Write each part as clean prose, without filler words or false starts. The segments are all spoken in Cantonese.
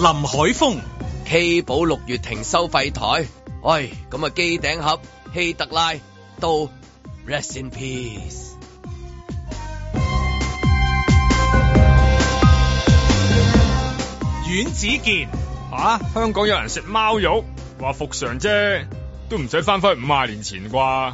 林海峰 K 寶6月停收費台，喂，咁啊機頂盒希特拉都 Rest in Peace。 阮子健香港有人食貓肉，話復常啫，都唔使翻去50年前啩。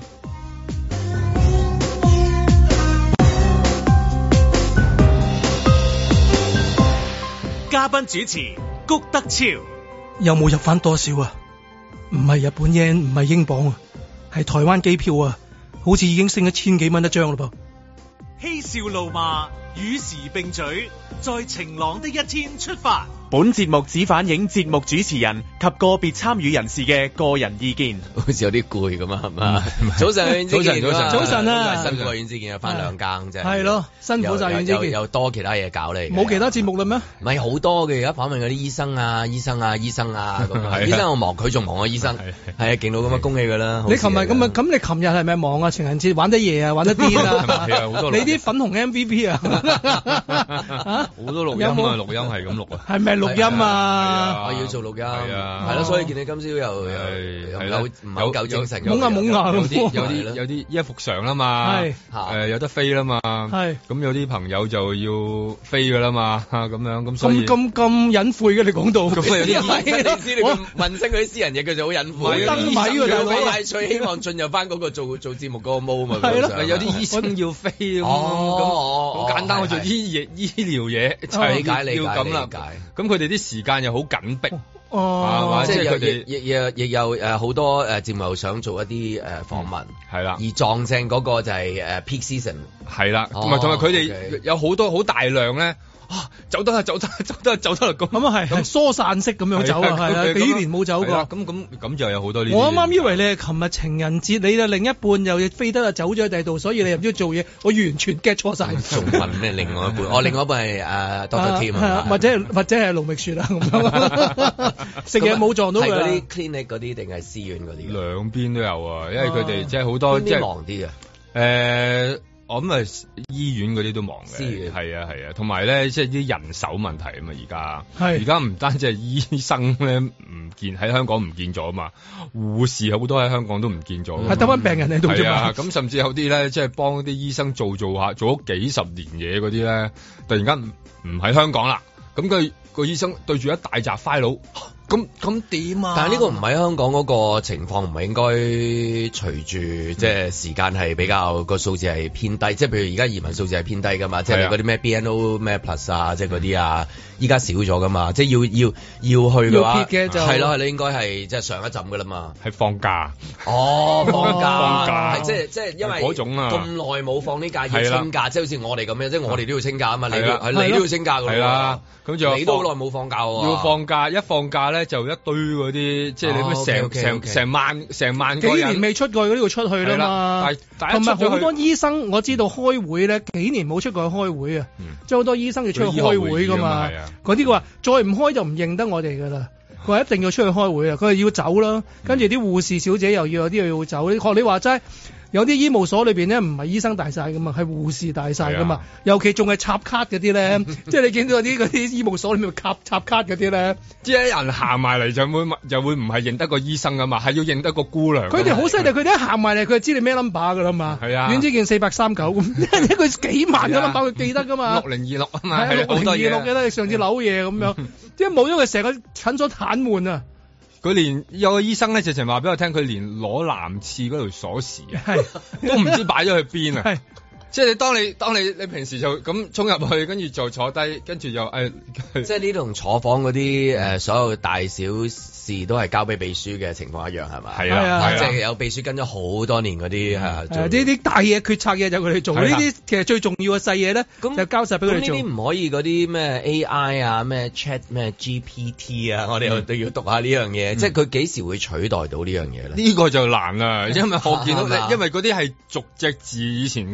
嘉賓主持谷德超， 有冇入翻多少啊？唔係日本yen，唔係英鎊啊，係台灣機票啊，好似已經升咗1000幾蚊一張嘞噃。 嬉笑怒罵與時並舉，在晴朗的一天出發。 本節目只反映節目主持人及個別參與人士嘅個人意見。 好似有啲攰咁啊，係嘛？早晨， 早晨啊！ 辛苦啊，阮子健啊，翻2更啫。係咯，辛苦晒阮子健。 又多其他嘢搞你。 冇其他節目啦咩？ 唔係好多嘅，而家訪問嗰啲醫生啊咁。醫生我忙，佢仲忙啊，醫生。係啊，勁到咁啊，恭喜佢啦！ 你琴日咁啊？咁你琴日係咪忙啊？情人節玩得夜啊，玩得癲啊！ 係啊，好多。 你啲粉紅 MVP 啊？ 好多錄音啊，錄音係咁錄啊。 係咪錄音啊？ 我要做錄音，係咯，所以見你今朝又唔係夠精神， 懵啊有啲依家復常啦嘛，有得飛啦嘛，咁有啲朋友就要飛噶啦嘛，咁樣咁所以咁隱晦嘅你講到， 咁有啲你知你問聲佢啲私人嘢，佢就好隱晦， 好燈謎㗎大佬， 但係最希望進入翻嗰個做節目嗰個 mode 嘛， 係咯， 有啲醫生要飛咁好簡單，我做醫療嘢就係要咁啦，咁佢哋啲時間又好緊迫， 即係佢哋亦有好多節目想做一啲訪問，係啦，而撞正嗰個就係peak season， 係啦，同埋佢哋有好多好大量咧，走得啦咁啊係疏散式咁樣走啊，係啊，幾年冇走過， 咁就有好多呢啲。 我啱啱以為你係琴日情人節，你嘅另一半又飛得啊走咗喺第二度，所以你又唔知做嘢，我完全 get 錯晒。 仲問咩？另外一半，我另外一半係Doctor Tim 啊， 或者係盧覓雪啊咁樣，食嘢冇撞到佢。係嗰啲 clinic 嗰啲定係私院嗰啲？ 兩邊都有啊，因為佢哋即係好多即係忙啲啊。 我諗係醫院嗰啲都忙嘅，係啊，同埋咧即係啲人手問題啊嘛，而家唔單止係醫生咧唔見喺香港唔見咗啊嘛，護士好多喺香港都唔見咗， 係得翻病人喺度啫嘛。 咁甚至有啲咧即係幫啲醫生做下做咗幾十年嘢嗰啲咧，突然間唔喺香港啦，咁個醫生對住一大紮 file。咁點啊？ 但係呢個唔係香港嗰個情況，唔係應該隨住即係時間係比較個數字係偏低，即係譬如而家移民數字係偏低噶嘛，即係嗰啲咩 BNO 咩 Plus 啊，即係嗰啲啊，依家少咗噶嘛，即係要去嘅話，係咯，應該係即係上一陣噶啦嘛， 係放假。 放假係即係因為嗰種啊， 咁耐冇放呢假要清假，即係好似我哋咁樣，即係我哋都要清假啊嘛，你都要清假㗎喎。係啦，咁就你都好耐冇放假喎。要放假，一放假咧就一堆嗰啲，即係你咩成萬個人幾年未出過嗰啲會出去啦嘛。同埋好多醫生我知道開會咧，幾年冇出過去開會啊，即係好多醫生要出去開會㗎嘛。嗰啲佢話再唔開就唔認得我哋㗎啦。佢話一定要出去開會啊！佢係要走啦，跟住啲護士小姐又要有啲要走。學你話齋，有啲醫務所裏邊咧唔係醫生大晒噶嘛，係護士大晒噶嘛。尤其仲係插卡嗰啲咧，即係你見到嗰啲醫務所裏面插卡嗰啲咧， 即係人行埋嚟就會唔係認得個醫生噶嘛，係要認得個姑娘。 佢哋好犀利，佢哋一行埋嚟，佢就知你咩 number 噶啦嘛。係啊，阮子健439咁，一個幾萬個 number 佢記得噶嘛。 6026啊嘛， 係6026記得你上次扭嘢咁樣，即係冇咗佢成個診所癱瘓啊！ 佢連有個醫生咧，直情話俾我聽，佢連攞男廁嗰條鎖匙啊，都唔知擺咗去邊啊！即係當你平時就咁衝入去，跟住就坐低，跟住又即係呢度坐房嗰啲所有大小事都係交俾秘書嘅情況一樣係嘛？係啊，即係有秘書跟咗好多年嗰啲呢啲大嘢決策嘢就佢哋做，呢啲其實最重要嘅細嘢咧，就交晒俾佢哋做。 呢啲唔可以嗰啲咩 AI 啊、咩 Chat 咩 GPT 啊，我哋都要讀下呢樣嘢。即係佢幾時會取代到呢樣嘢咧？ 呢個就難啦，因為我見到因為嗰啲係逐隻字以前咁樣。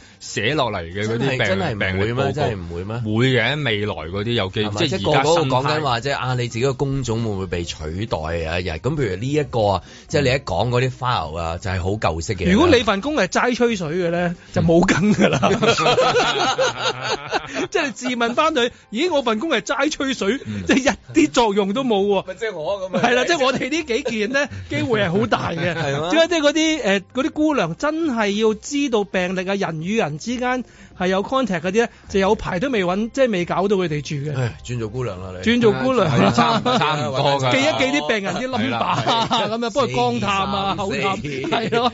寫落嚟嘅嗰啲病真係病歷報告， 真係唔會咩？ 會嘅，未來嗰啲有機會， 即係個個講緊話，即係你自己個工種會唔會被取代啊？日咁譬如呢一個啊，即係你一講嗰啲 file 啊，就係好舊式嘅。如果你份工係齋吹水嘅咧，就冇梗㗎啦。即係你自問翻佢，咦？我份工係齋吹水，即係一啲作用都冇喎。 即係我咁。 係啦，即係我哋呢幾件咧，機會係好大嘅。係嘛？即係嗰啲姑娘真係要知道病歷啊，人與人之間係有 contact 嗰啲咧，就有排都未揾，即係未搞到佢哋住嘅。 轉做姑娘啦，你。轉做姑娘啦， 差唔多㗎。 記一記啲病人啲 number 咁樣，幫佢光探啊、口探，係咯。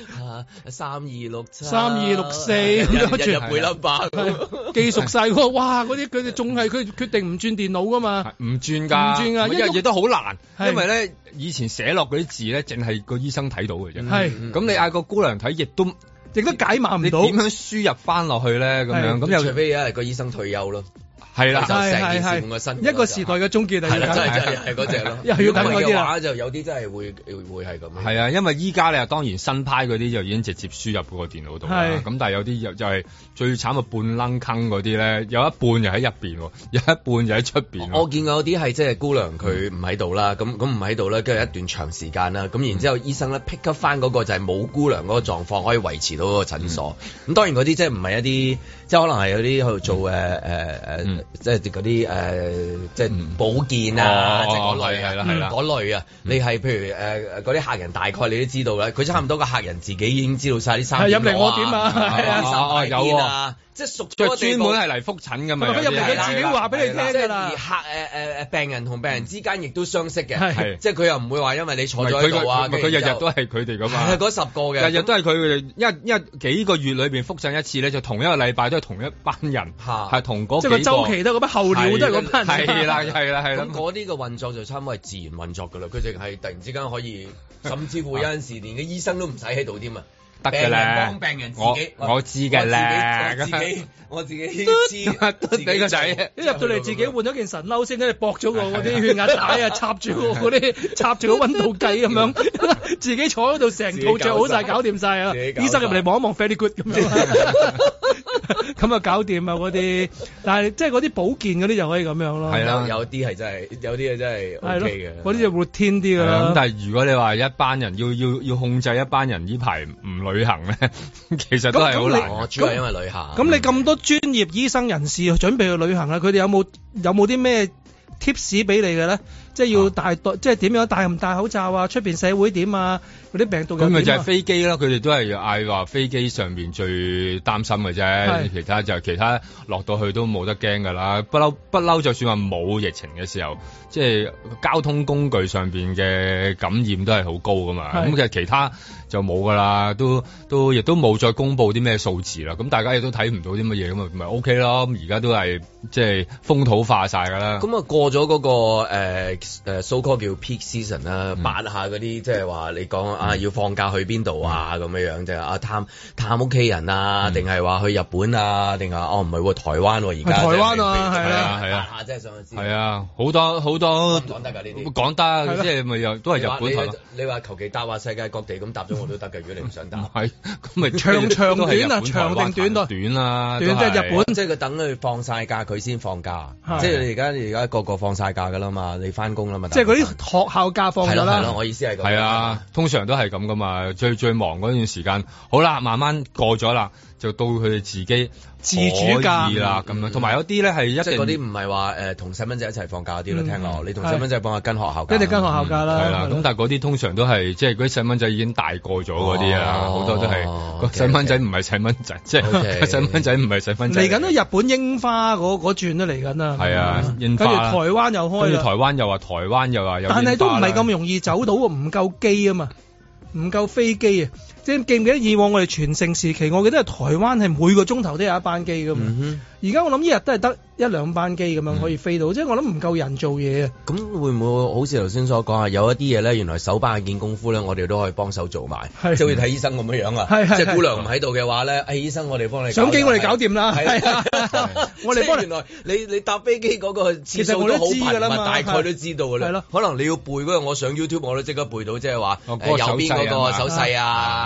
3267、 3264咁樣日背 number， 記熟晒喎！哇，嗰啲佢哋仲係佢決定唔轉電腦噶嘛？ 唔轉㗎，一樣嘢都好難，因為咧以前寫落嗰啲字咧，淨係個醫生睇到嘅啫。係咁，你嗌個姑娘睇，亦都解碼唔到。 你點樣輸入翻落去咧？咁樣咁又除非有一個醫生退休咯。 係啦， 係一個時代嘅終結嚟， 係真係嗰隻咯。 又要等嗰啲話就有啲真係會係咁。 係啊，因為依家你當然新派嗰啲就已經直接輸入嗰個電腦度啦。咁但係有啲就係最慘嘅半愣坑嗰啲咧，有一半就喺入邊，有一半就喺出邊。 我見過有啲係即係姑娘佢唔喺度啦，咁唔喺度咧，跟住一段長時間啦，咁然之後醫生咧 pick up 翻嗰個就係冇姑娘嗰個狀況可以維持到嗰個診所。咁當然嗰啲即係唔係一啲，即係可能係有啲喺度做即係嗰啲即係保健啊，即係嗰類係啦，嗰類啊，你係譬如嗰啲客人大概你都知道啦，佢差唔多個客人自己已經知道晒啲衫入嚟我點啊， 有啊。即係熟咗個專門係嚟覆診㗎嘛， 佢入嚟佢自己話俾你聽㗎啦。 而病人同病人之間亦都相識嘅，即係佢又唔會話因為你坐咗喺度啊， 佢日日都係佢哋㗎嘛。 係嗰10個嘅， 日日都係佢哋，因為幾個月裏邊覆診一次咧，就同一個禮拜都係同一班人，係同嗰幾個。 即係個週期都係嗰班候鳥都係嗰班人。 係啦。咁嗰啲嘅運作就差唔多係自然運作㗎啦，佢淨係突然之間可以，甚至乎有陣時連個醫生都唔使喺度添啊。 得嘅咧， 幫病人自己， 我知嘅咧， 我自己知俾個仔， 一入到嚟自己換咗件神褸先，跟住駁咗個嗰啲血壓帶啊，插住個溫度計咁樣，自己坐喺度成套着好晒，搞掂晒啊！醫生入嚟望一望 very good 咁樣，咁啊搞掂啊嗰啲，但係即係嗰啲保健嗰啲就可以咁樣咯。 係啦，有啲係真係，有啲係真係 OK 嘅。 嗰啲就活天啲㗎啦。 咁但係如果你話一班人要控制一班人呢排唔旅行咧，其實都係好難。 主要係因為旅行。 咁你咁多專業醫生人士準備去旅行啦，佢哋有冇啲咩 tips 俾你嘅咧？即係要即係點樣戴唔戴口罩啊？出邊社會點啊？嗰啲病毒咁咪就係飛機咯，佢哋都係嗌話飛機上邊最擔心嘅啫，其他落到去都冇得驚㗎啦。不嬲，就算話冇疫情嘅時候，即係交通工具上邊嘅感染都係好高㗎嘛。咁其他就冇㗎啦，都亦都冇再公布啲咩數字啦。咁大家亦都睇唔到啲乜嘢，咁咪 OK 咯。咁而家都係即係風土化晒㗎啦。 咁啊過咗嗰個so called 叫 peak season 啦，八下嗰啲即係話你講啊要放假去邊度啊咁樣即係啊探屋企人啊，定係話去日本啊，定係唔係喎台灣而家？ 台灣啊， 係啊， 即係想知。 係啊，好多講得㗎呢啲， 講得即係咪又都係日本？ 你話求其答話世界各地咁答咗我都得㗎，如果你唔想答。 係咁咪長短啊，長定短短啊， 短即係日本， 即係佢等佢放晒假佢先放假，即係你而家個個放晒假㗎啦嘛，你翻工啦嘛。 即係嗰啲學校假放咗啦。 係咯，我意思係咁。 係啊，通常都係咁噶嘛。最忙嗰段時間，好啦，慢慢過咗啦，就到佢哋自己自主假啦咁樣。同埋有啲咧係一定嗰啲唔係話同細蚊仔一齊放假啲咯。聽落你同細蚊仔放下跟學校假， 一定跟學校假啦。 係啦，咁但係嗰啲通常都係即係嗰啲細蚊仔已經大個咗嗰啲啊，好多都係個細蚊仔唔係細蚊仔，即係細蚊仔唔係細蚊仔。 嚟緊都日本櫻花嗰轉都嚟緊啦。 係啊，櫻花。 跟住台灣又開啦。 跟住台灣又話有。 但係都唔係咁容易走到，唔夠機啊嘛，唔夠飛機啊！即係記唔記得以往我哋全盛時期，我記得係台灣係每個鐘頭都有一班機噶嘛。而家我諗一日都係得1-2班機咁樣可以飛到，即係我諗唔夠人做嘢啊。 咁會唔會好似頭先所講啊？有一啲嘢咧，原來手把眼見功夫咧，我哋都可以幫手做埋，即係好似睇醫生咁樣樣啊。即係姑娘唔喺度嘅話咧，醫生我哋幫你相機我哋搞掂啦。我哋幫原來你搭飛機嗰個次數都好頻密，大概都知道㗎啦。可能你要背嗰個，我上 YouTube 我都即刻背到，即係話右邊嗰個手勢啊。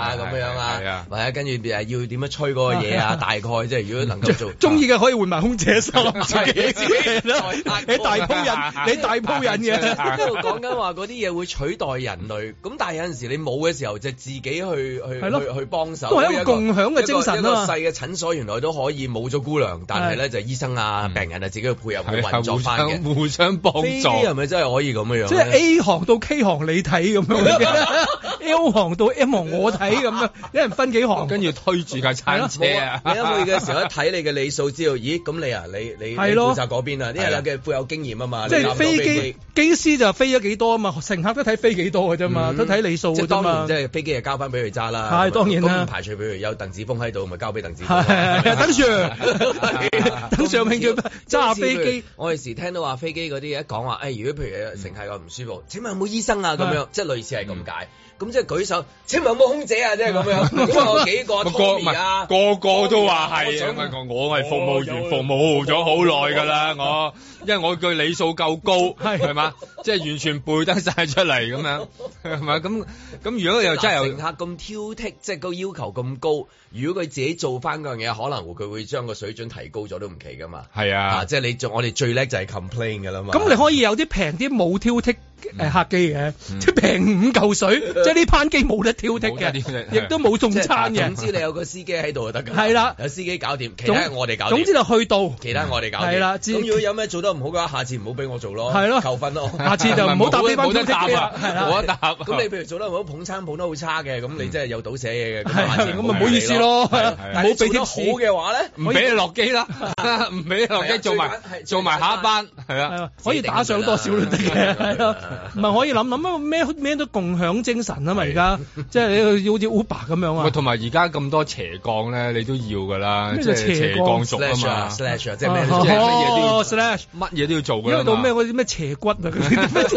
啊咁樣啊，或者跟住要點樣吹嗰個嘢啊，大概即係如果能夠做中意嘅可以換埋空姐衫，自己你大鋪人嘅， 呢度講緊話嗰啲嘢會取代人類，咁但係有陣時你冇嘅時候就自己去幫手， 都係一個共享嘅精神啊嘛。 一個細嘅診所原來都可以冇咗姑娘，但係咧就醫生啊、病人啊自己去配合去運作翻嘅， 互相幫助。飛機係咪真係可以咁樣？ 即係 A 行到 K 行你睇咁樣，L 行到 M 行我睇咁樣，一人分幾行， 跟住推住架餐車啊！ 你一去嘅時候一睇你嘅里數，知道咦咁你啊你負責嗰邊啊？啲人嘅富有經驗啊嘛， 即係飛機機師就飛咗幾多啊嘛，乘客都睇飛幾多嘅啫嘛，都睇里數嘅啫嘛。 即係飛機就交翻俾佢揸啦。 係當然啦。 咁唔排除譬如有鄧子峰喺度，咪交俾鄧子峰。 係等 Sir，等 Sir 命叫揸飛機。 我有時聽到話飛機嗰啲一講話，如果譬如乘客個唔舒服，請問有冇醫生啊？咁樣即係類似係咁解。咁即係舉手，請問有冇空姐啊？即係咁樣。咁我幾個 Tommy 啊， 個個都話係。我係服務員，服務咗好耐㗎啦，因為我句里數夠高，係嘛？即係完全背得晒出嚟咁樣，係咪？咁如果又真係乘客咁挑剔，即係個要求咁高，如果佢自己做翻嗰樣嘢，可能佢會將個水準提高咗都唔奇㗎嘛。 係啊， 即係我哋最叻就係 complain 㗎啦嘛。 咁你可以有啲平啲冇挑剔客機嘅，即係平5嚿水，即係呢班機冇得挑剔嘅，亦都冇送餐嘅。 總之你有個司機喺度就得㗎。 係啦， 有司機搞掂，其他我哋搞掂。 總之就去到， 其他我哋搞掂。係啦，咁如果有咩做得唔好嘅話，下次唔好俾我做咯。係咯，扣分咯。下次就唔好搭呢班挑剔機啦。係啦，冇得搭。咁你譬如做得唔好，捧餐捧得好差嘅，咁你真係有倒瀉嘢嘅。咁咪唔好意思咯。 但係做得好嘅話咧， 唔俾你落機啦，唔俾你落機做埋下一班，係啊， 可以打上多少都得嘅，係咯，唔係可以諗咩都共享精神啊嘛！而家即係你好似 Uber 咁樣啊。 同埋而家咁多斜槓咧，你都要㗎啦，即係斜槓族啊嘛。 slash 即係咩？ 乜嘢都要做㗎。 因為到咩嗰啲咩斜骨啊嗰啲乜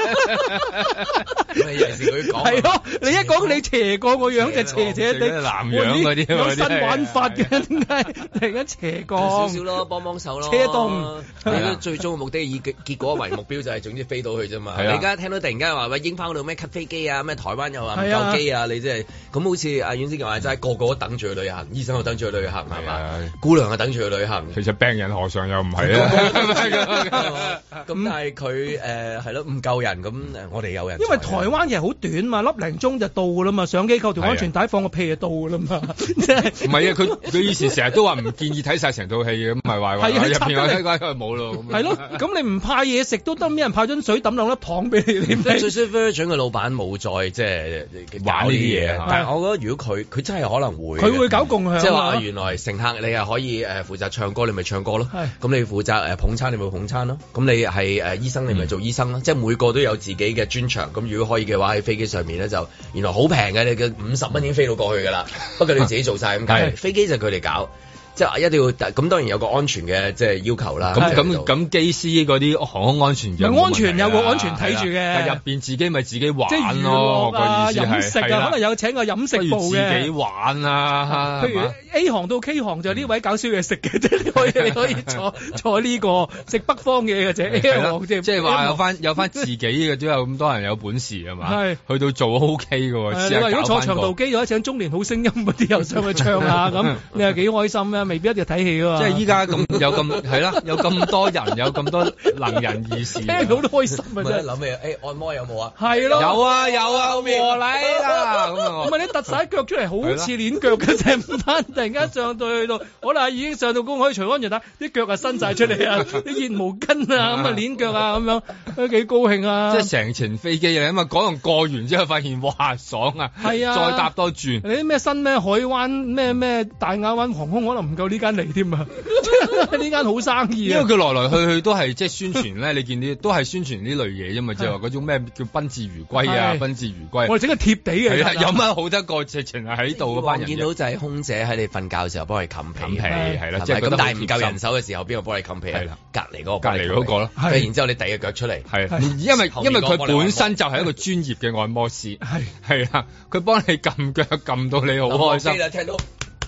嘢。 有時佢講係咯，你一講你斜槓個樣就斜斜地， 南洋嗰啲有新玩法嘅，點解突然間斜槓？ 少少咯，幫手咯。 車動。 你最終嘅目的以結果為目標，就係總之飛到去啫嘛。你而家聽到突然間話英翻嗰度咩 cut 飛機啊，咩台灣又話唔夠機啊，你即係咁好似阿阮先生話齋，個個都等住去旅行，醫生又等住去旅行係嘛，姑娘又等住去旅行。 其實病人何嘗又唔係啊？ 咁但係佢係咯唔夠人，咁我哋有人。 因為台灣其實好短嘛，粒零鐘就到㗎啦嘛，上機扣條安全帶放個屁就到㗎啦嘛，即係。 唔係啊，佢以前成日都話唔建議睇晒成套戲嘅，咁唔係話入邊我睇過冇咯。 係咯，咁你唔派嘢食都得，俾人派樽水抌兩粒糖俾你。 最衰 Virgin 嘅老闆冇再即係玩呢啲嘢，但係我覺得如果佢真係可能會， 佢會搞共享， 即係話原來乘客你係可以負責唱歌，你咪唱歌咯。咁你負責捧餐，你咪捧餐咯。咁你係醫生，你咪做醫生咯。即係每個都有自己嘅專長。咁如果可以嘅話，喺飛機上面咧就原來好平嘅，你嘅50蚊已經飛到過去㗎啦。不過你自己做晒咁解，飛機就佢哋搞。即係一定要咁，當然有個安全嘅即係要求啦。 咁機師嗰啲航空安全有安全有個安全睇住嘅。 但入邊自己咪自己玩咯。 即係娛樂啊、飲食啊，可能有請個飲食部嘅。 自己玩啊。 譬如 A 行到 K 行就呢位搞宵夜食嘅啫，你可以坐呢個食北方嘢嘅啫。A 行即係話有翻自己嘅都有咁多人有本事啊嘛。係去到做 OK 嘅喎。 你話如果坐長途機又請中年好聲音嗰啲又上去唱下咁，你係幾開心啊？未必一定要睇戲㗎嘛。 即係依家咁有咁係啦，有咁多人，有咁多能人異士， 聽到都開心啊！真係諗起按摩有冇啊？ 係咯， 有啊和禮啦咁啊！ 唔係你突晒腳出嚟，好似鏈腳嘅成班，突然間上到去到，可能已經上到公海除安全帶，啲腳啊伸晒出嚟啊，啲熱毛巾啊咁啊鏈腳啊咁樣，都幾高興啊！ 即係成程飛機啊，咁啊嗰度過完之後發現哇爽啊！ 係啊， 再搭多轉。 你啲咩新咩海灣咩大亞灣航空可能唔夠呢間嚟添啊！呢間好生意啊！ 因為佢來來去去都係即係宣傳咧，你見啲都係宣傳呢類嘢啫嘛，即係話嗰種咩叫賓至如歸啊，賓至如歸。 我哋整個貼地嘅， 有乜好得過直情係喺度嗰班人。 見到就係空姐喺你瞓覺嘅時候幫你冚被， 係啦， 即係咁。但係唔夠人手嘅時候，邊個幫你冚被啊？隔離嗰個咯。然之後你遞個腳出嚟， 係因為佢本身就係一個專業嘅按摩師，係啦，佢幫你撳腳撳到你好開心。 聽到。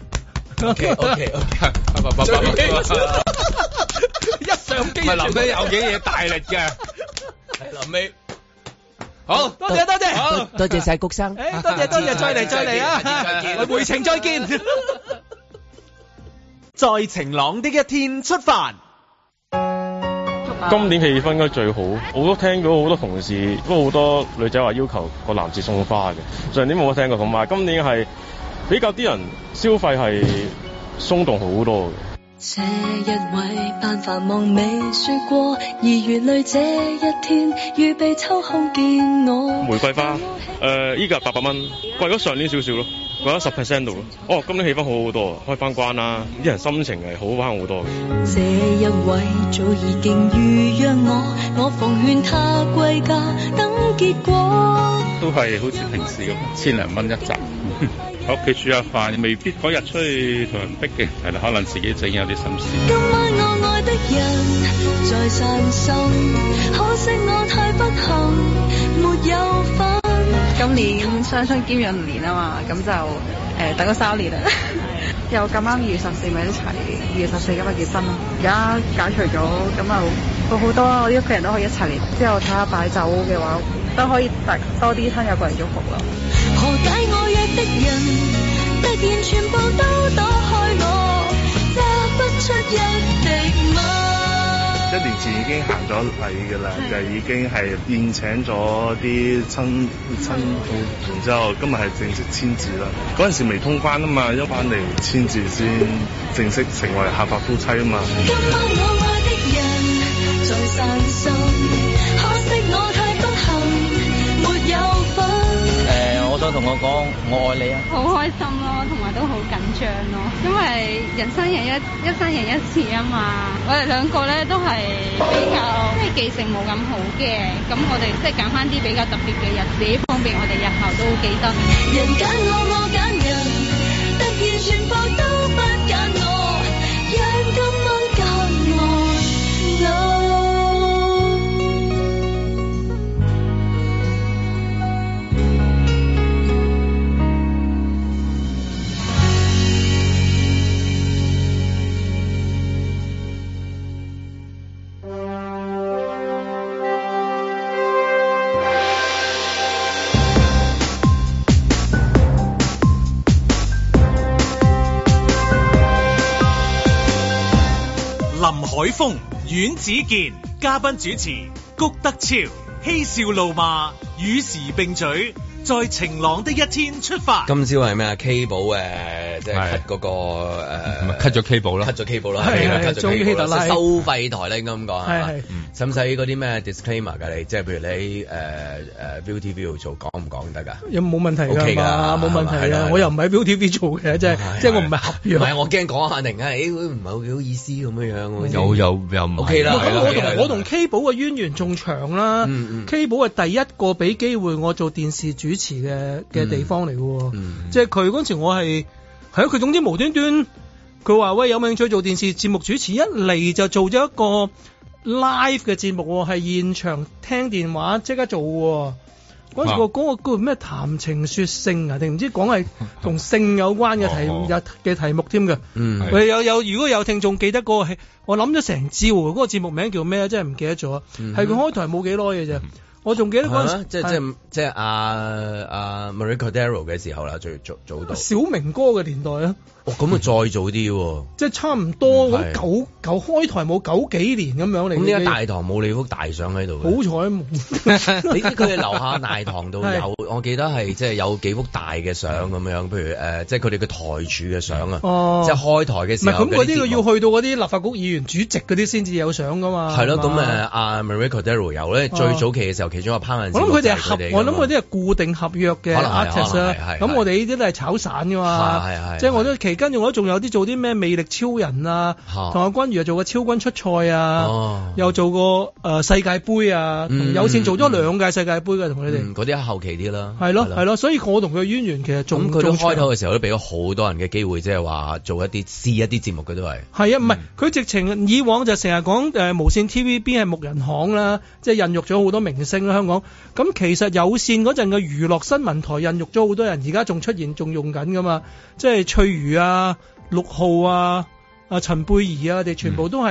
OK，一上機， 唔係臨尾有幾嘢大力嘅， 係臨尾。 好， 多謝多謝， 好，多謝晒谷生， 多謝，再嚟啊，回程再見。 在晴朗的一天出發。 今年氣氛應該最好，我都聽到好多同事，不過好多女仔話要求個男士送花嘅。上年冇乜聽過，同埋今年係比較啲人消費係鬆動好多嘅。 這一位扮繁忙未說過，而如淚這一天預備抽空見我。玫瑰花依家800蚊，貴咗上年少少咯，貴咗10% 度咯。哦，今年氣氛好好多，開翻關啦，啲人心情係好翻好多嘅。 這一位早已經預約我奉勸他歸家等結果。 都係好似平時咁，1000零蚊一集。喺屋企煮下飯，未必嗰日出去同人逼嘅，係啦，可能自己整有啲心思。 今晚我愛的人在散心，可惜我太不幸，沒有份。 今年雙春兼閏年啊嘛，咁就等咗3年啦。又咁啱2月14咪一齊，2月14今日結婚咯。而家解除咗，咁就好多我啲屋企人都可以一齊嚟，之後睇下擺酒嘅話，都可以多啲親友過嚟祝福咯。 何解我約的人突然全部都躲開我，揸不出一滴墨。 1年前已經行咗禮㗎啦，就已經係宴請咗啲親，然之後今日係正式簽字啦。嗰陣時未通關啊嘛，一翻嚟簽字先正式成為合法夫妻啊嘛。 今晚我愛的人在散心，可惜我太不幸，沒有份。 我想同我講我愛你啊！ 好開心咯，同埋都好緊張咯，因為人生一生人一次啊嘛。我哋兩個咧都係比較記性冇咁好嘅，咁我哋即係揀翻啲比較特別嘅日子，方便我哋日後都記得。 人揀我揀人，突然全部都不揀我，讓今晚隔岸林海峰、阮子健，嘉賓主持谷德超，嬉笑怒罵，與時並舉，在晴朗的一天出發。 今朝係咩啊？K 寶即係 cut 嗰個 cut 咗 K 寶啦， cut 咗 K 寶啦， 係終於希特拉收費台咧，應該咁講係使唔使嗰啲咩 disclaimer 㗎？你即係譬如你ViuTV 度做講唔講得㗎？有冇問題㗎？OK 㗎，冇問題啊！我又唔喺 ViuTV 做嘅，即係我唔係合約。唔係我驚講下突然間，唔係好幾好意思咁樣。 又唔 OK 啦。 我同 K 寶嘅淵源仲長啦。K 寶係第一個俾機會我做電視主持嘅地方嚟嘅，即係佢嗰陣時我係佢總之無端端佢話喂，有冇興趣做電視節目主持，一嚟就做咗一個 live 嘅節目，係現場聽電話即刻做嘅。嗰陣時嗰個咩談情說性啊，定唔知講係同性有關嘅題目添嘅。如果有聽眾記得嗰個，我諗咗成朝嗰個節目名叫咩？真係唔記得咗。係佢開台冇幾耐嘅啫。我仲記得嗰陣時， 即係阿 Maria Cordero 嘅時候啦，最早到小明哥嘅年代啊。 咁啊再早啲喎， 即係差唔多咁九開台冇90幾年咁樣嚟。咁點解大堂冇你幅大相喺度？ 好彩冇。 你知佢哋樓下大堂度有，我記得係即係有幾幅大嘅相咁樣，譬如即係佢哋嘅台柱嘅相啊。即係開台嘅時候。唔係咁嗰啲，佢要去到嗰啲立法局議員主席嗰啲先至有相噶嘛。係咯，咁阿 Maria Cordero 有咧，最早期嘅時候其中一個烹飪。我諗佢哋係固定合約嘅 artist 啊。咁我哋呢啲都係炒散噶嘛。即係我都跟住我仲有啲做啲咩魅力超人啊，同阿君如又做過超君出賽啊，又做過世界盃啊，同有線做咗2屆世界盃嘅，同佢哋嗰啲後期啲啦。係咯，所以我同佢嘅淵源其實仲佢開頭嘅時候都俾咗好多人嘅機會，即係話做一啲試一啲節目嘅都係。 係啊，唔係佢直情以往就成日講無線 TVB 係木人巷啦，即係孕育咗好多明星啦香港。咁其實有線嗰陣嘅娛樂新聞台孕育咗好多人，而家仲出現仲用緊噶嘛，即係翠如啊、6號啊、陳貝兒啊，佢哋全部都係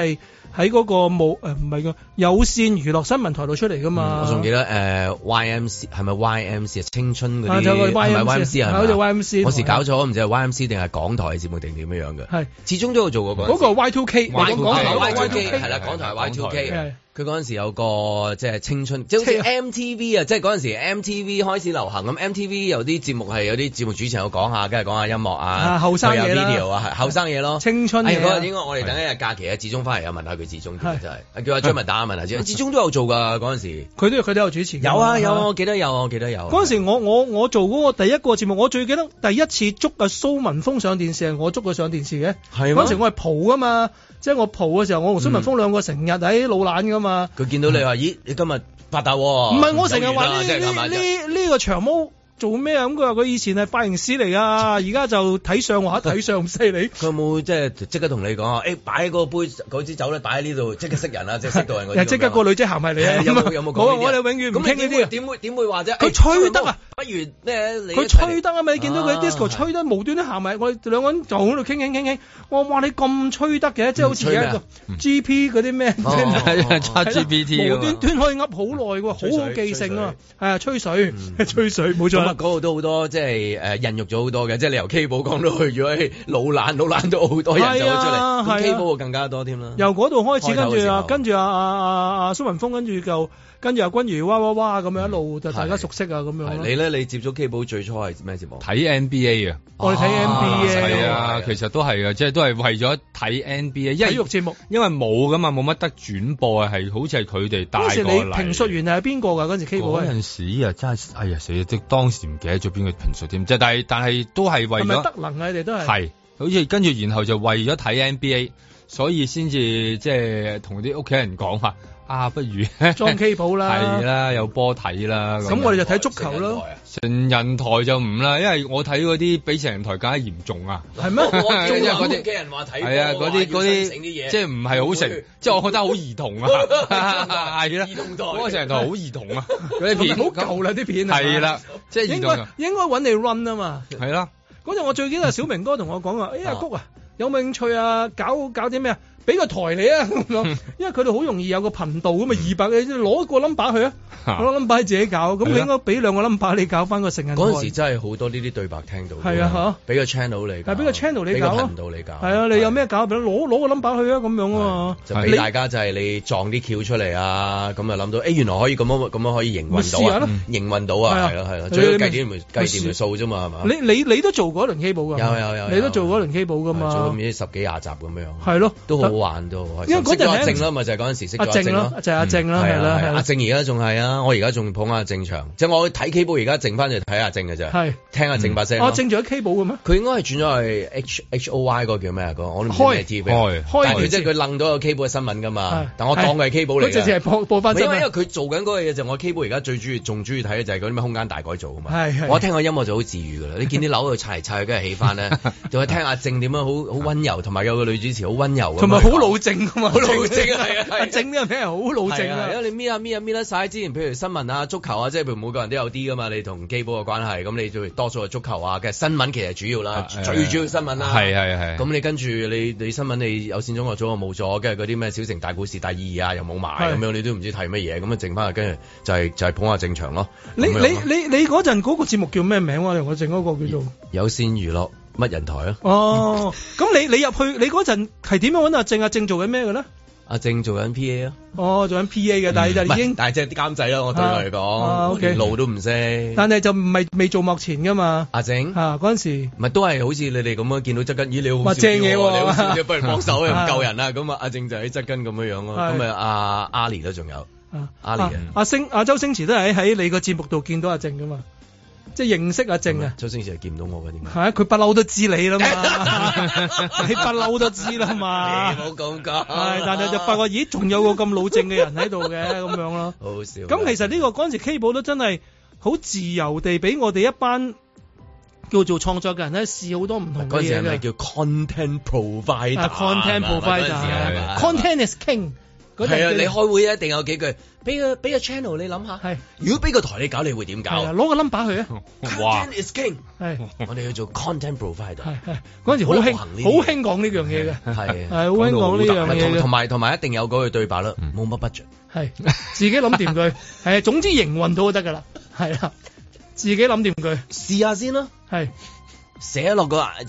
喺嗰個唔係個有線娛樂新聞台度出嚟噶嘛。 我仲記得YMC 係咪 YMC 青春嗰啲係咪 YMC 啊？ 好似 YMC。 我時搞錯，唔知係 YMC 定係港台嘅節目定點樣嘅。係，始終都有做過嗰個 Y2K。 Y2K 係啦，港台 Y2K。佢嗰陣時有個即係青春，即係好似 MTV 啊，即係嗰陣時 MTV 開始流行咁。MTV 有啲節目係有啲節目主持人有講下，跟住講下音樂啊， 後生嘢啦 video 啊，後生嘢咯， 青春嘢。 嗰日應該我哋等一日假期啊，志忠翻嚟又問下佢志忠，真係叫阿張文打下問下志忠。志忠都有做㗎嗰陣時， 佢都有主持。 有啊，我記得有。 嗰陣時我做嗰個第一個節目，我最記得第一次捉阿蘇文峰上電視係我捉佢上電視嘅。係嗰陣時我係蒲㗎嘛。即係我蒲嘅時候，我同蘇文峰兩個成日喺老懶噶嘛。佢見到你話：咦，你今日發達喎？唔係我成日話呢個長毛做咩啊？咁佢話佢以前係髮型師嚟㗎，而家就睇相畫睇相咁犀利。佢有冇即刻同你講啊？擺嗰杯嗰支酒咧，擺喺呢度，即刻識人啊！即係識到人嗰啲。即刻個女仔行埋嚟啊！有冇講？我哋永遠唔傾呢啲。點會話啫？佢吹得啊！不如咩？佢吹得啊嘛！你見到佢 disco 吹得無端端行埋，我哋兩個人就喺度傾。我話你咁吹得嘅，即係好似而家個 GP 嗰啲咩，ChatGPT 無端端可以噏好耐喎，好好記性啊！係啊，吹水冇錯。嗰度都好多，即係孕育咗好多嘅，即係你由 K 寶講到去咗老懶都好多人走咗出嚟，K 寶更加多添啦。由嗰度開始，跟住阿蘇文峰，跟住阿君如哇咁樣一路就大家熟悉啊咁樣。你咧，你接觸 K 寶最初係咩節目？睇 NBA 啊，我哋睇 NBA 係啊，其實都係嘅，即係都係為咗睇 NBA，體育節目，因為冇噶嘛，冇乜得轉播啊，係好似係佢哋帶過嚟。嗰時你評述員係邊個㗎？嗰陣時 K 寶嗰陣時啊，真係哎呀死啊！即當時唔記得咗邊個評述添，即係但係都係為咗係咪德能啊？你哋都係好似跟住然後就為咗睇 NBA，所以先至即係同啲屋企人講話。不如裝 K 寶啦，係啦，有波睇啦。咁我哋就睇足球咯。成人台就唔啦，因為我睇嗰啲比成人台更加嚴重啊。係咩？我中意嗰啲嘅人話睇。係啊，嗰啲即係唔係好成，即係我覺得好兒童啊。係啦，兒童台嗰個成人台好兒童啊。嗰啲片好舊啦，啲片係啦，即係應該揾你 run 啊嘛。係啦，嗰陣我最記得小明哥同我講話，阿谷啊，有冇興趣啊？搞啲咩啊？俾個台你啊咁樣，因為佢哋好容易有個頻道咁啊，200你攞個 number 去啊，攞 number 自己搞，咁你應該俾兩個 number 你搞翻個成人台。嗰陣時真係好多呢啲對白聽到。係啊嚇，俾個 channel 你搞，俾個 channel 你搞，俾個頻道你搞。係啊，你有咩搞？攞個 number 去啊咁樣啊，就俾大家就係你撞啲橋出嚟啊，咁啊諗到，原來可以咁樣可以營運到啊，營運到啊，係啦，最多計掂條數啫嘛，係嘛？你都做過一輪 K 寶㗎？有，你都做過一輪 K 寶㗎嘛？做咗唔知10幾20集咁樣。係咯，都好。玩都開心，因為嗰陣阿靜啦，咪就係嗰陣時識咗阿靜咯，就係阿靜啦，係啦，阿靜而家仲係啊，我而家仲捧阿靜場，即係我睇 K 寶而家剩翻就睇阿靜嘅啫，係聽阿靜把聲。阿靜仲喺 K 寶嘅咩？佢應該係轉咗去 HOY 嗰個叫咩啊？我都唔知咩 TV，但係佢即係佢楞到個 K 寶嘅新聞㗎嘛，但我當佢係 K 寶嚟嘅，直係播翻。因為佢做緊嗰個嘢就我 K 寶而家最仲中意睇嘅就係嗰啲咩空間大改造啊嘛，我聽個音樂就好治癒㗎啦，你見啲樓喺度拆嚟拆去，跟住起翻咧，就係聽阿靜點樣好溫柔，同埋有個女主持好溫柔，同埋好老正㗎嘛。好老正啊，係啊，整呢個名係好老正啊，因為你搣得晒之前，譬如新聞啊、足球啊，即係譬如每個人都有啲噶嘛，你同基寶嘅關係，咁你就多數係足球啊，其實新聞其實主要啦，最主要新聞啦，係，咁你跟住你新聞你有線中學組冇咗，跟住嗰啲咩小城大故事第2啊又冇埋，咁樣你都唔知睇乜嘢，咁啊剩翻跟住就係捧下正場咯。你嗰陣嗰個節目叫咩名啊？我剩嗰個叫做有線娛樂。乜人台啊？哦，咁你入去，你嗰陣係點樣揾阿靜？阿靜做緊咩嘅咧？阿靜做緊 PA 啊。哦，做緊 PA 嘅，但係就已經，但係即係啲監製啦。我對佢嚟講，連路都唔識。但係就唔係未做幕前噶嘛？阿靜嗰陣時，唔係都係好似你哋咁樣見到側根，咦你好正嘢喎，你好笑嘅，不如幫手又唔夠人啊，咁啊阿靜就喺側根咁樣咯。咁啊阿Ali都仲有阿Ali阿周星馳都係喺你個節目度見到阿靜噶嘛？即係認識阿靜啊！周星馳係見唔到我嘅點解？係啊，佢不嬲都知你啦嘛，你不嬲都知啦嘛。你冇咁講。係，但係就發覺，咦，仲有個咁老正嘅人喺度嘅咁樣咯。好好笑。咁其實呢個嗰陣時 K 寶都真係好自由地俾我哋一班叫做創作嘅人咧試好多唔同嘅嘢嘅。嗰陣時係咪叫 content provider？content provider，content is king。 係啊，你開會一定有幾句，俾個 channel 你諗下。係，如果俾個台你搞，你會點搞？ 攞個 number 去啊。 Content is king。 係， 我哋要做 content provider。 係嗰陣時好興講呢樣嘢嘅。係好興講呢樣嘢嘅。 同埋一定有嗰句對白啦，冇乜 budget。 係自己諗掂佢。係總之營運到就得㗎啦。係啦，自己諗掂佢， 試下先啦。係。寫一啲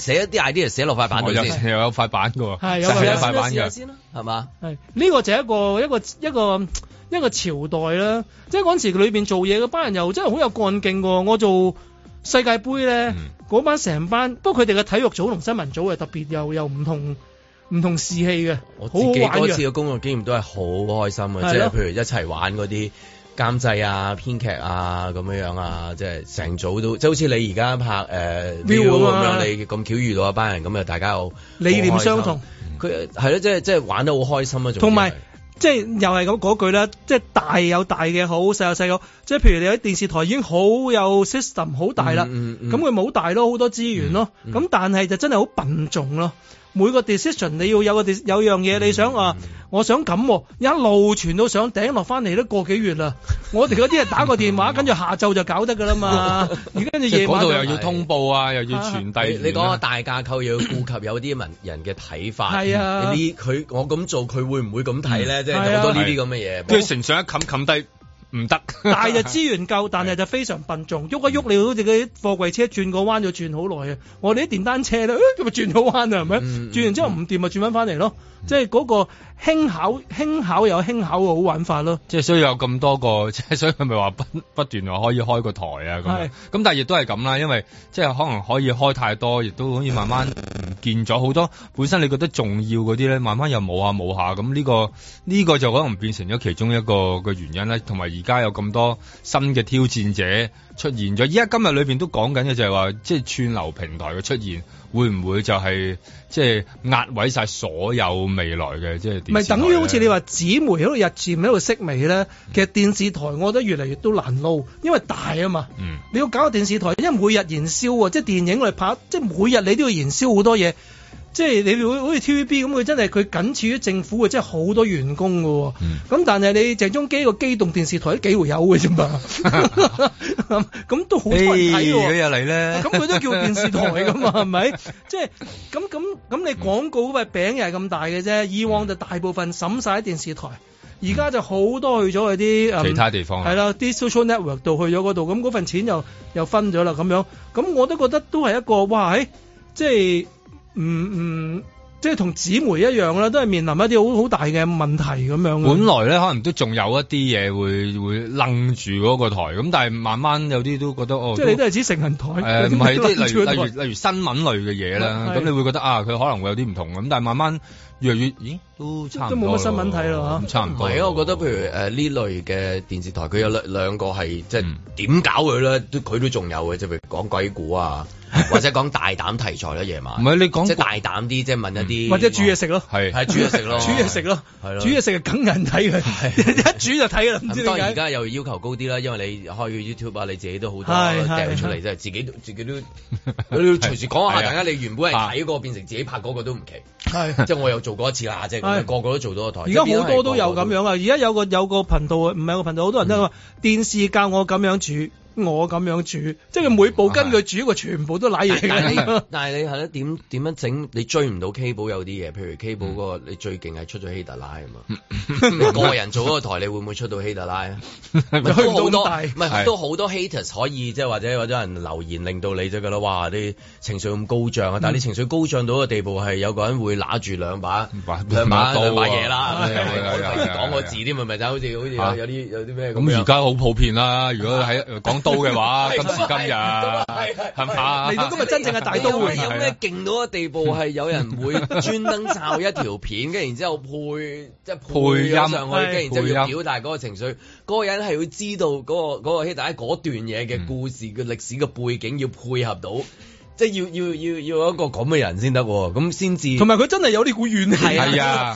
idea 寫落塊板度先， 又有塊板㗎喎， 係有塊板嘅先啦，係嘛？ 係呢個就係一個朝代啦，即係嗰陣時裏邊做嘢嗰班人又真係好有幹勁喎。我做世界盃咧，嗰班成班，不過佢哋嘅體育組同新聞組係特別又唔同士氣嘅， 我自己嗰次嘅工作經驗都係好開心嘅，即係譬如一齊玩嗰啲。監製啊、編劇啊咁樣啊，即係成組都，即係好似你而家拍View 咁樣，你咁巧遇到一班人，咁啊大家又理念相同， 佢係咯，即係玩得好開心啊！ 同埋即係又係咁嗰句啦，即係大有大嘅好，細有細嘅好，即係譬如你喺電視台已經好有 system 好大啦，咁佢冇大咯，好多資源咯，咁但係就真係好笨重咯。每個 decision 你要有樣嘢你想我想咁，一路傳到上頂落翻嚟都個幾月啦。我哋嗰啲係打個電話，跟住下晝就搞得噶啦嘛。而跟住夜晚嗰度又要通報啊，又要傳遞。 你講個大架構又要顧及有啲人嘅睇法。 係啊， 我咁做，佢會唔會咁睇咧？即係好多呢啲咁嘅嘢。 跟住成上一冚低。唔得， 大就資源夠，但係就非常笨重，喐一喐你好似嗰啲貨櫃車轉個彎就轉好耐啊！我哋啲電單車咧，咁咪轉好彎啊，係咪？轉完之後唔掂咪轉翻嚟咯，即係嗰個輕巧有輕巧嘅好玩法咯。 即係所以有咁多個，即係所以佢咪話不斷話可以開個台啊咁。咁但係亦都係咁啦，因為即係可能可以開太多，亦都可以慢慢唔見咗好多本身你覺得重要嗰啲咧，慢慢又冇下咁呢個就可能變成咗其中一個嘅原因啦，同埋。而家有咁多新嘅挑戰者出現咗，依家今日裏邊都講緊嘅就係話，即係串流平台嘅出現，會唔會就係即係壓毀晒所有未來嘅即係電視台？唔係等於好似你話紙媒喺度日漸喺度式微咧，其實電視台我覺得越嚟越都難撈，因為大啊嘛。你要搞個電視台，因為每日燃燒啊，即係電影嚟拍，即係每日你都要燃燒好多嘢。即係你好似 TVB 咁，佢真係佢僅次於政府嘅，即係好多員工嘅。咁但係你鄭中基個機動電視台都幾回有嘅啫嘛。咁都好多人睇喎。 佢又嚟咧， 咁佢都叫電視台㗎嘛，係咪？即係咁你廣告嗰塊餅又係咁大嘅啫。以往就大部分審晒喺電視台，而家就好多去咗去啲其他地方。 係啦，啲 social network 度去咗嗰度，咁嗰份錢又分咗啦咁樣。咁我都覺得都係一個哇，即係。即係同紙媒一樣啦，都係面臨一啲好大嘅問題咁樣。 本來咧可能都仲有一啲嘢會楞住嗰個台，咁但係慢慢有啲都覺得即係你都係指成人台。 唔係啲例如新聞類嘅嘢啦，咁你會覺得佢可能會有啲唔同咁，但係慢慢越嚟越，咦都差唔多。 都冇乜新聞睇咯， 差唔多。 唔係啊，我覺得譬如呢類嘅電視台，佢有兩個係即係點搞佢咧，佢都仲有嘅，即係譬如講鬼故啊。或者講大膽題材啦，夜晚。 唔係你講即係大膽啲，即係問一啲。 或者煮嘢食咯， 係煮嘢食咯， 煮嘢食咯，係咯，煮嘢食係梗人睇嘅，一煮就睇啦。唔知點解。當然而家又要求高啲啦，因為你開個 YouTube 啊，你自己都好多掟出嚟，即係自己都隨時講下，大家你原本係睇過變成自己拍嗰個都唔奇。係，即係我又做過一次啦，即係個個都做到個台。 而家好多都有咁樣啊！而家有個頻道，唔係個頻道，好多人都話電視教我咁樣煮。我咁樣煮，即係佢每部跟佢煮，佢全部都瀨嘢。 但係你係咧點樣整？你追唔到 Cable 有啲嘢，譬如 Cable 嗰個你最勁係出咗希特拉啊嘛。你個人做嗰個台，你會唔會出到希特拉啊？都好多，唔係都好多 haters 可以即係或者人留言令到你就覺得哇啲情緒咁高漲啊！但係你情緒高漲到個地步係有個人會拿住兩把嘢啦，講個字添，咪就好似有啲咩咁。 咁而家好普遍啦，如果喺講刀嘅話，今時今日係嘛？ 嚟到今日真正嘅大刀會有咩勁到嘅地步係有人會專登抄一條片，跟然之後配音上去，跟然之後要表達嗰個情緒。嗰個人係會知道嗰個希特拉嗰段嘢嘅故事嘅歷史嘅背景，要配合到，即係要一個咁嘅人先得，咁先至。 同埋佢真係有呢股怨氣， 係啊，直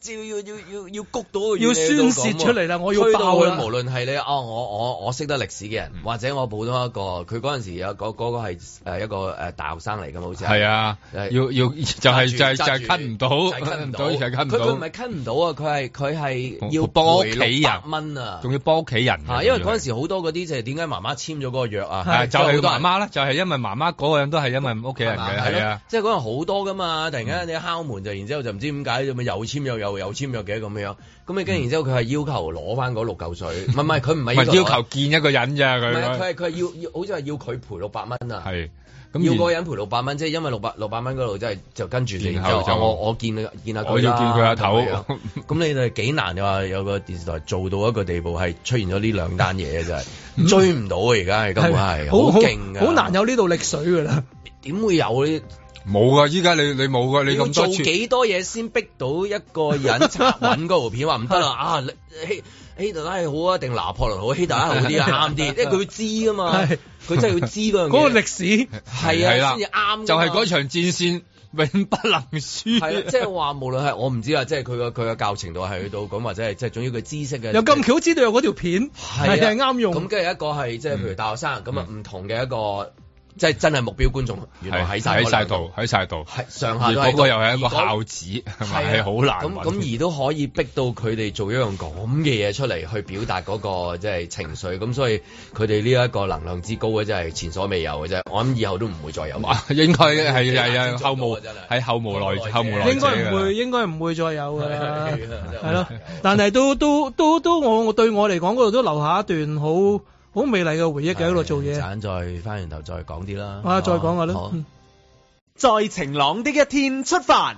要谷到個要宣洩出嚟啦，我要爆啦。 無論係你我識得歷史嘅人，或者我普通一個，佢嗰陣時有嗰個係一個大學生嚟㗎嘛，好似係啊，要就係咳唔到，咳唔到，佢唔係咳唔到啊，佢係要幫屋企人600蚊啊，仲要幫屋企人啊，因為嗰陣時好多嗰啲就係點解媽媽簽咗嗰個約啊， 就係媽媽啦，就係因為媽媽嗰個人都係因為屋企人嘅，係啊， 即係嗰陣好多㗎嘛，突然間你敲門就，然之後就唔知點解咁又簽約又簽約嘅咁樣，咁你跟然之後佢係要求攞翻嗰6嚿水，唔係佢唔係要求見一個人咋佢， 佢係要好似係要佢賠600蚊啊， 係。 要個人賠600蚊，即係因為600蚊嗰度，即係就跟住你，然後就我見下佢， 我要見佢阿頭。 咁你哋幾難嘅話，有個電視台做到一個地步係出現咗呢2單嘢嘅，真係追唔到啊！而家係根本係好勁嘅， 好難有呢度力水㗎啦。 點會有呢？ 冇噶，依家你冇噶，你咁做幾多嘢先逼到一個人揾嗰條片話唔得啦啊！希特拉係好啊，定拿破崙好？希特拉好啲啊，啱啲，因為佢知啊嘛，佢真係要知嗰個歷史係啊，先至啱。 就係嗰場戰線永不能輸。 係即係話無論係我唔知啊，即係佢嘅教程度係去到咁，或者係即係總之佢知識嘅。 又咁巧知道有嗰條片係啱用。 咁跟住一個係即係譬如大學生咁啊，唔同嘅一個。即係真係目標觀眾，原來喺晒度， 喺晒度， 係上下都嗰個又係一個孝子，係咪？係好難咁而都可以逼到佢哋做一樣咁嘅嘢出嚟，去表達嗰個即係情緒。咁所以佢哋呢一個能量之高嘅真係前所未有嘅啫。我諗以後都唔會再有。 應該係後無係後無來應該唔會再有㗎啦。係咯，但係都我對我嚟講嗰度都留下一段好美麗嘅回憶嘅喺度做嘢， 陣再翻完頭再講啲啦。 再講下啦。 在晴朗的一天出發。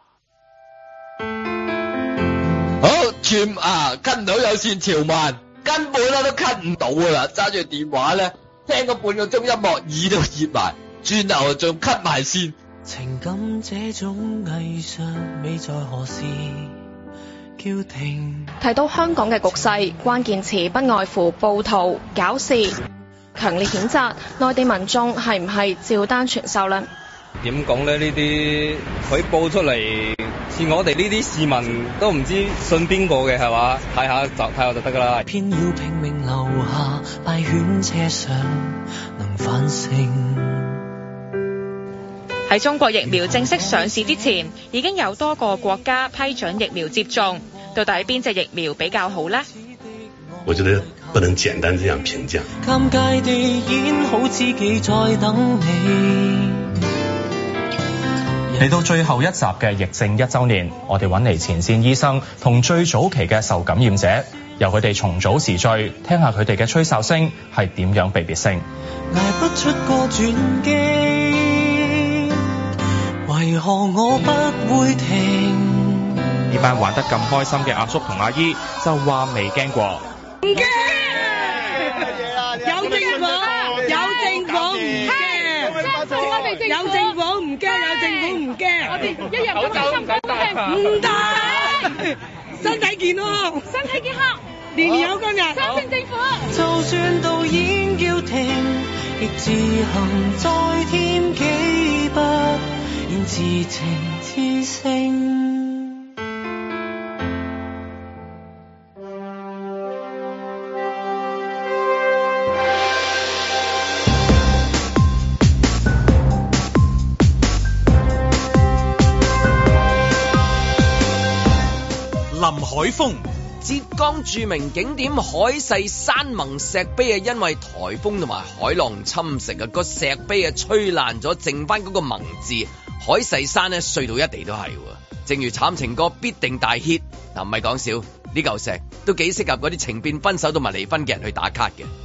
好，cut 唔到有線條漫，根本都 cut 唔到噶啦。揸住電話咧，聽個半個鐘音樂，耳都熱埋，轉頭仲 cut 埋線。 情感這種藝術美在何時？ 提到香港嘅局勢，關鍵詞不外乎暴徒、搞事，強烈譴責內地民眾係唔係照單全收呢？ 點講呢？呢啲佢報出嚟，似我哋呢啲市民都唔知信邊個嘅係嘛？睇下就得㗎啦。 偏要拼命留下敗犬車上能反省。 喺中國疫苗正式上市之前，已經有多個國家批准疫苗接種。到底邊隻疫苗比較好呢？ 我覺得不能簡單這樣評價。 尷尬地演好知己在等你。 嚟到最後一集嘅疫症1週年，我哋揾嚟前線醫生同最早期嘅受感染者，由佢哋重組時序，聽下佢哋嘅吹哨聲係點樣被別聲。 捱不出個轉機，為何我不會停？ 呢班玩得咁開心嘅阿叔同阿姨就話未驚過， 唔驚，有政府唔驚，有政府唔驚，我哋一日都開心唔得，身體健康，年年有今日，相信政府。 就算導演叫停，亦自行再添幾筆，現自情自性。 林海峰， 浙江著名景點海誓山盟石碑因為颱風同埋海浪侵蝕個石碑吹爛咗，剩翻嗰個盟字，海誓山碎到一地都係。正如慘情歌必定大 hit， 唔係講笑，呢嚿石都幾適合嗰啲情變分手同埋離婚嘅人去打卡嘅。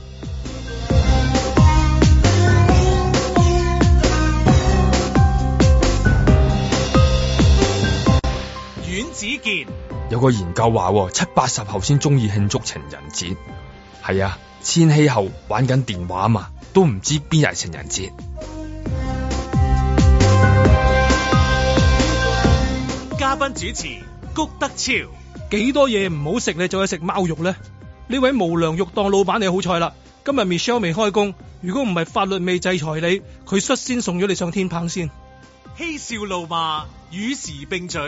阮子健， 有個研究話，70-80後先中意慶祝情人節。係啊，千禧後玩緊電話嘛，都唔知邊日係情人節。 嘉賓主持谷德超， 幾多嘢唔好食你就去食貓肉呢？呢位無良肉檔老闆你好彩啦，今日 Michelle 未開工，如果唔係法律未制裁你，佢率先送咗你上天棚先。 嬉笑怒罵與時並舉，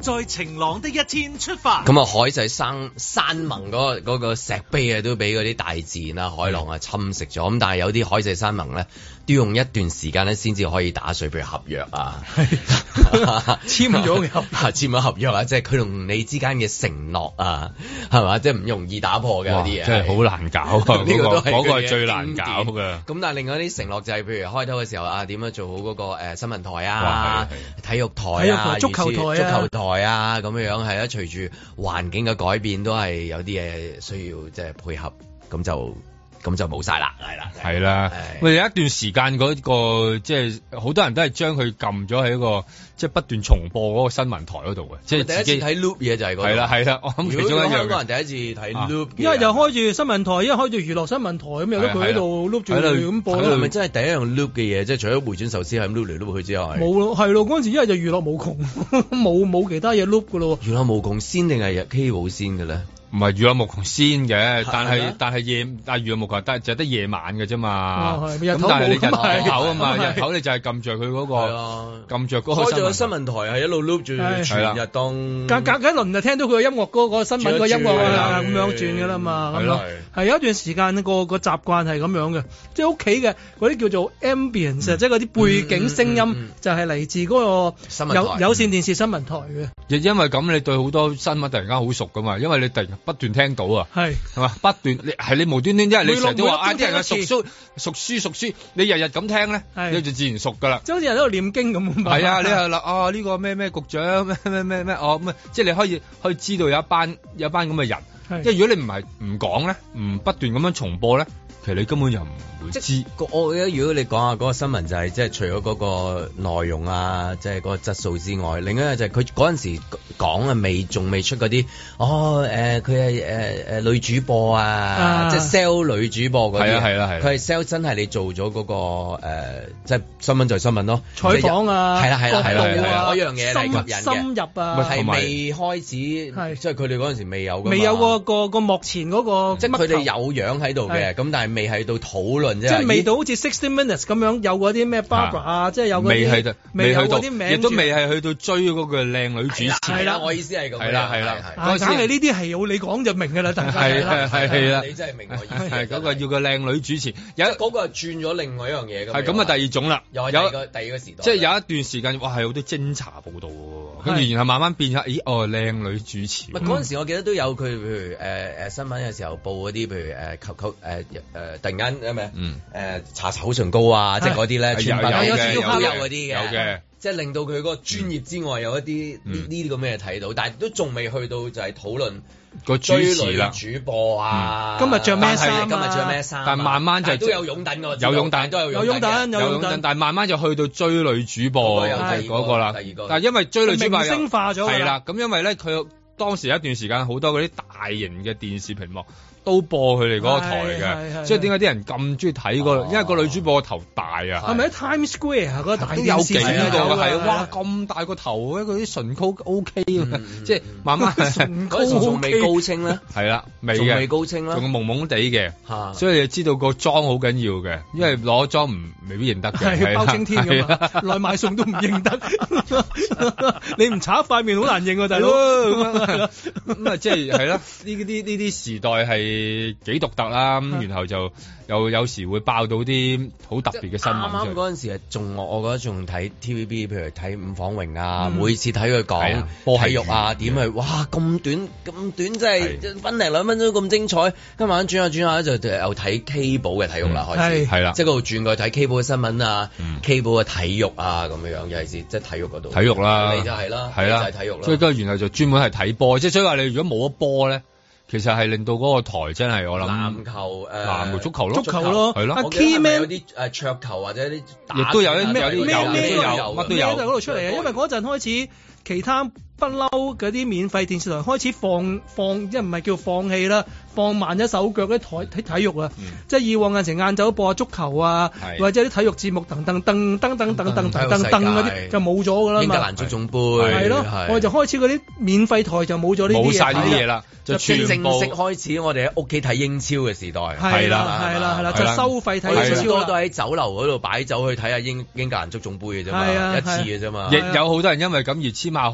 在晴朗的一天出發。 咁啊，海就係山盟嗰個石碑啊，都俾嗰啲大自然啊、海浪啊侵蝕咗。咁但係有啲海誓山盟咧，都用一段時間咧先至可以打碎，譬如合約啊， 簽咗合約啊，即係佢同你之間嘅承諾啊，係嘛？即係唔容易打破嘅嗰啲嘢， 真係好難搞啊！呢個係最難搞嘅。 咁但係另外啲承諾就係譬如開頭嘅時候啊，點樣做好嗰個新聞台啊、體育台啊、足球台啊咁樣樣係啊。隨住環境嘅改變，都係有啲嘢需要即係配合，咁就冇晒啦， 係啦。喂，有一段時間嗰個即係好多人都係將佢撳咗喺一個即係不斷重播嗰個新聞台嗰度嘅，即係第一次睇 loop 嘢就係嗰個。 係啦，我諗其中一樣。香港人第一次睇 loop， 因為又開住新聞台，因為開住娛樂新聞台咁，有得佢喺度 loop 住咁播。 係咪真係第一樣 loop 嘅嘢？即係除咗回轉壽司係 loop 嚟 loop 去之外， 冇咯，係咯。嗰陣時因為就娛樂無窮，冇其他嘢 loop 噶咯。 娛樂無窮先定係 Cable 先嘅咧？ 唔係娛樂無窮先嘅，但係娛樂無窮就得夜晚嘅啫嘛。咁但係你日頭啊嘛，日頭你就係撳著佢嗰個，撳著嗰個。開咗個新聞台係一路 loop 住全日當。隔一輪就聽到佢個音樂嗰個新聞個音樂啊咁樣轉㗎啦嘛。係咯，係有一段時間個習慣係咁樣嘅，即係屋企嘅嗰啲叫做 ambience，即係嗰啲背景聲音就係嚟自嗰個有線電視新聞台嘅。 亦因為咁，你對好多新聞突然間好熟㗎嘛，因為你突然不斷聽到啊，係嘛？不斷你無端端，因為你成日都話啲人係熟書，你日日咁聽咧，你就自然熟噶啦。 即係好似人喺度念經咁。 係啊，你係啦呢個咩局長咩咁即係你可以知道有一班咁嘅人。即係如果你唔講咧，唔不斷咁樣重播咧，其實你根本就唔會知。 我覺得如果你講下嗰個新聞就係即係除咗嗰個內容啊，即係嗰個質素之外，另一個就係佢嗰陣時講啊仲未出嗰啲佢係女主播啊，即係 sell 女主播嗰啲。係啦，佢係 sell 真係你做咗嗰個即係新聞就係新聞咯， 採訪啊， 係啦，嗰樣嘢嚟吸引嘅。 深入啊， 係未開始，即係佢哋嗰陣時未有個幕前嗰個， 即係佢哋有樣喺度嘅，咁但係未喺度討論。 即係未到好似60 Minutes 咁樣有嗰啲咩 Barbara 啊，即係有嗰啲未去到啲名， 亦都未係去到追嗰個靚女主持。 係啦，我意思係咁。係啦， 梗係呢啲係有你講就明㗎啦，大家係啦， 你真係明我意思。 係嗰個要個靚女主持，有嗰個係轉咗另外一樣嘢㗎。 係咁啊，第二種啦， 有第二個時代。 即係有一段時間，哇係好多偵查報導喎，跟住然後慢慢變咗，靚女主持。 嗰陣時我記得都有佢，譬如新聞嘅時候報嗰啲，譬如突然間咩？搽口唇膏啊，即係嗰啲咧，有嗰啲嘅，有嘅，即係令到佢嗰個專業之外有一啲呢啲咁嘅嘢睇到，但係都仲未去到就係討論個主持啦， 主播啊， 今日着咩衫？ 但慢慢就都有擁躉㗎， 有擁躉都有擁躉， 但係慢慢就去到追女主播嗰個啦。但係因為追女主播明星化咗， 係啦，咁因為咧佢當時有一段時間好多嗰啲大型嘅電視屏幕都播佢哋嗰個台嘅，所以點解啲人咁中意睇嗰個？因為個女主播個頭大啊！ 係咪喺 Times Square 嗰個大電視？ 都有幾個係哇咁大個頭咧，佢啲唇膏 OK 嘅，即係慢慢嗰陣時仲未高清咧， 係啦， 仲未高清啦， 仲蒙蒙地嘅，所以你就知道個妝好緊要嘅，因為攞妝未必認得嘅， 係包青天咁嘛，來買餸都唔認得，你唔搽塊面好難認啊，大佬咁啊，即係係啦，呢啲時代係幾獨特啦，咁然後就又有時會爆到啲好特別嘅新聞。 啱啱嗰陣時我覺得仲睇 TVB，譬如睇伍晃榮啊，每次睇佢講體育啊，點去哇咁短，真係分零兩分鐘咁精彩。今晚轉下就又睇 Cable 嘅體育啦，開始係啦，即係嗰度轉過去睇 Cable 嘅新聞啊，Cable 嘅體育啊咁樣，尤其是即係體育嗰度。 體育啦， 就係啦， 係啦， 就係體育啦。 所以跟住然後就專門係睇波，即係所以話你如果冇咗波咧。其實係令到嗰個台真係我諗籃球籃球足球咯， 係咯。 我記得係咪有啲桌球或者啲亦都有啲咩乜都有喺嗰度出嚟啊！因為嗰陣開始其他不嬲嗰啲免費電視台開始放，即係唔係叫放棄啦，放慢咗手腳啲體育啊！即係以往有時晏晝播足球啊，或者啲體育節目等嗰啲就冇咗㗎啦嘛。 英格蘭足總杯係咯，我哋就開始嗰啲免費台就冇咗呢啲嘢， 冇曬呢啲嘢啦，就正式開始我哋喺屋企睇英超嘅時代。 係啦，就收費睇英超。 多都喺酒樓嗰度擺酒去睇下英格蘭足總杯嘅啫嘛，一次嘅啫嘛。 亦有好多人因為咁而簽下好多條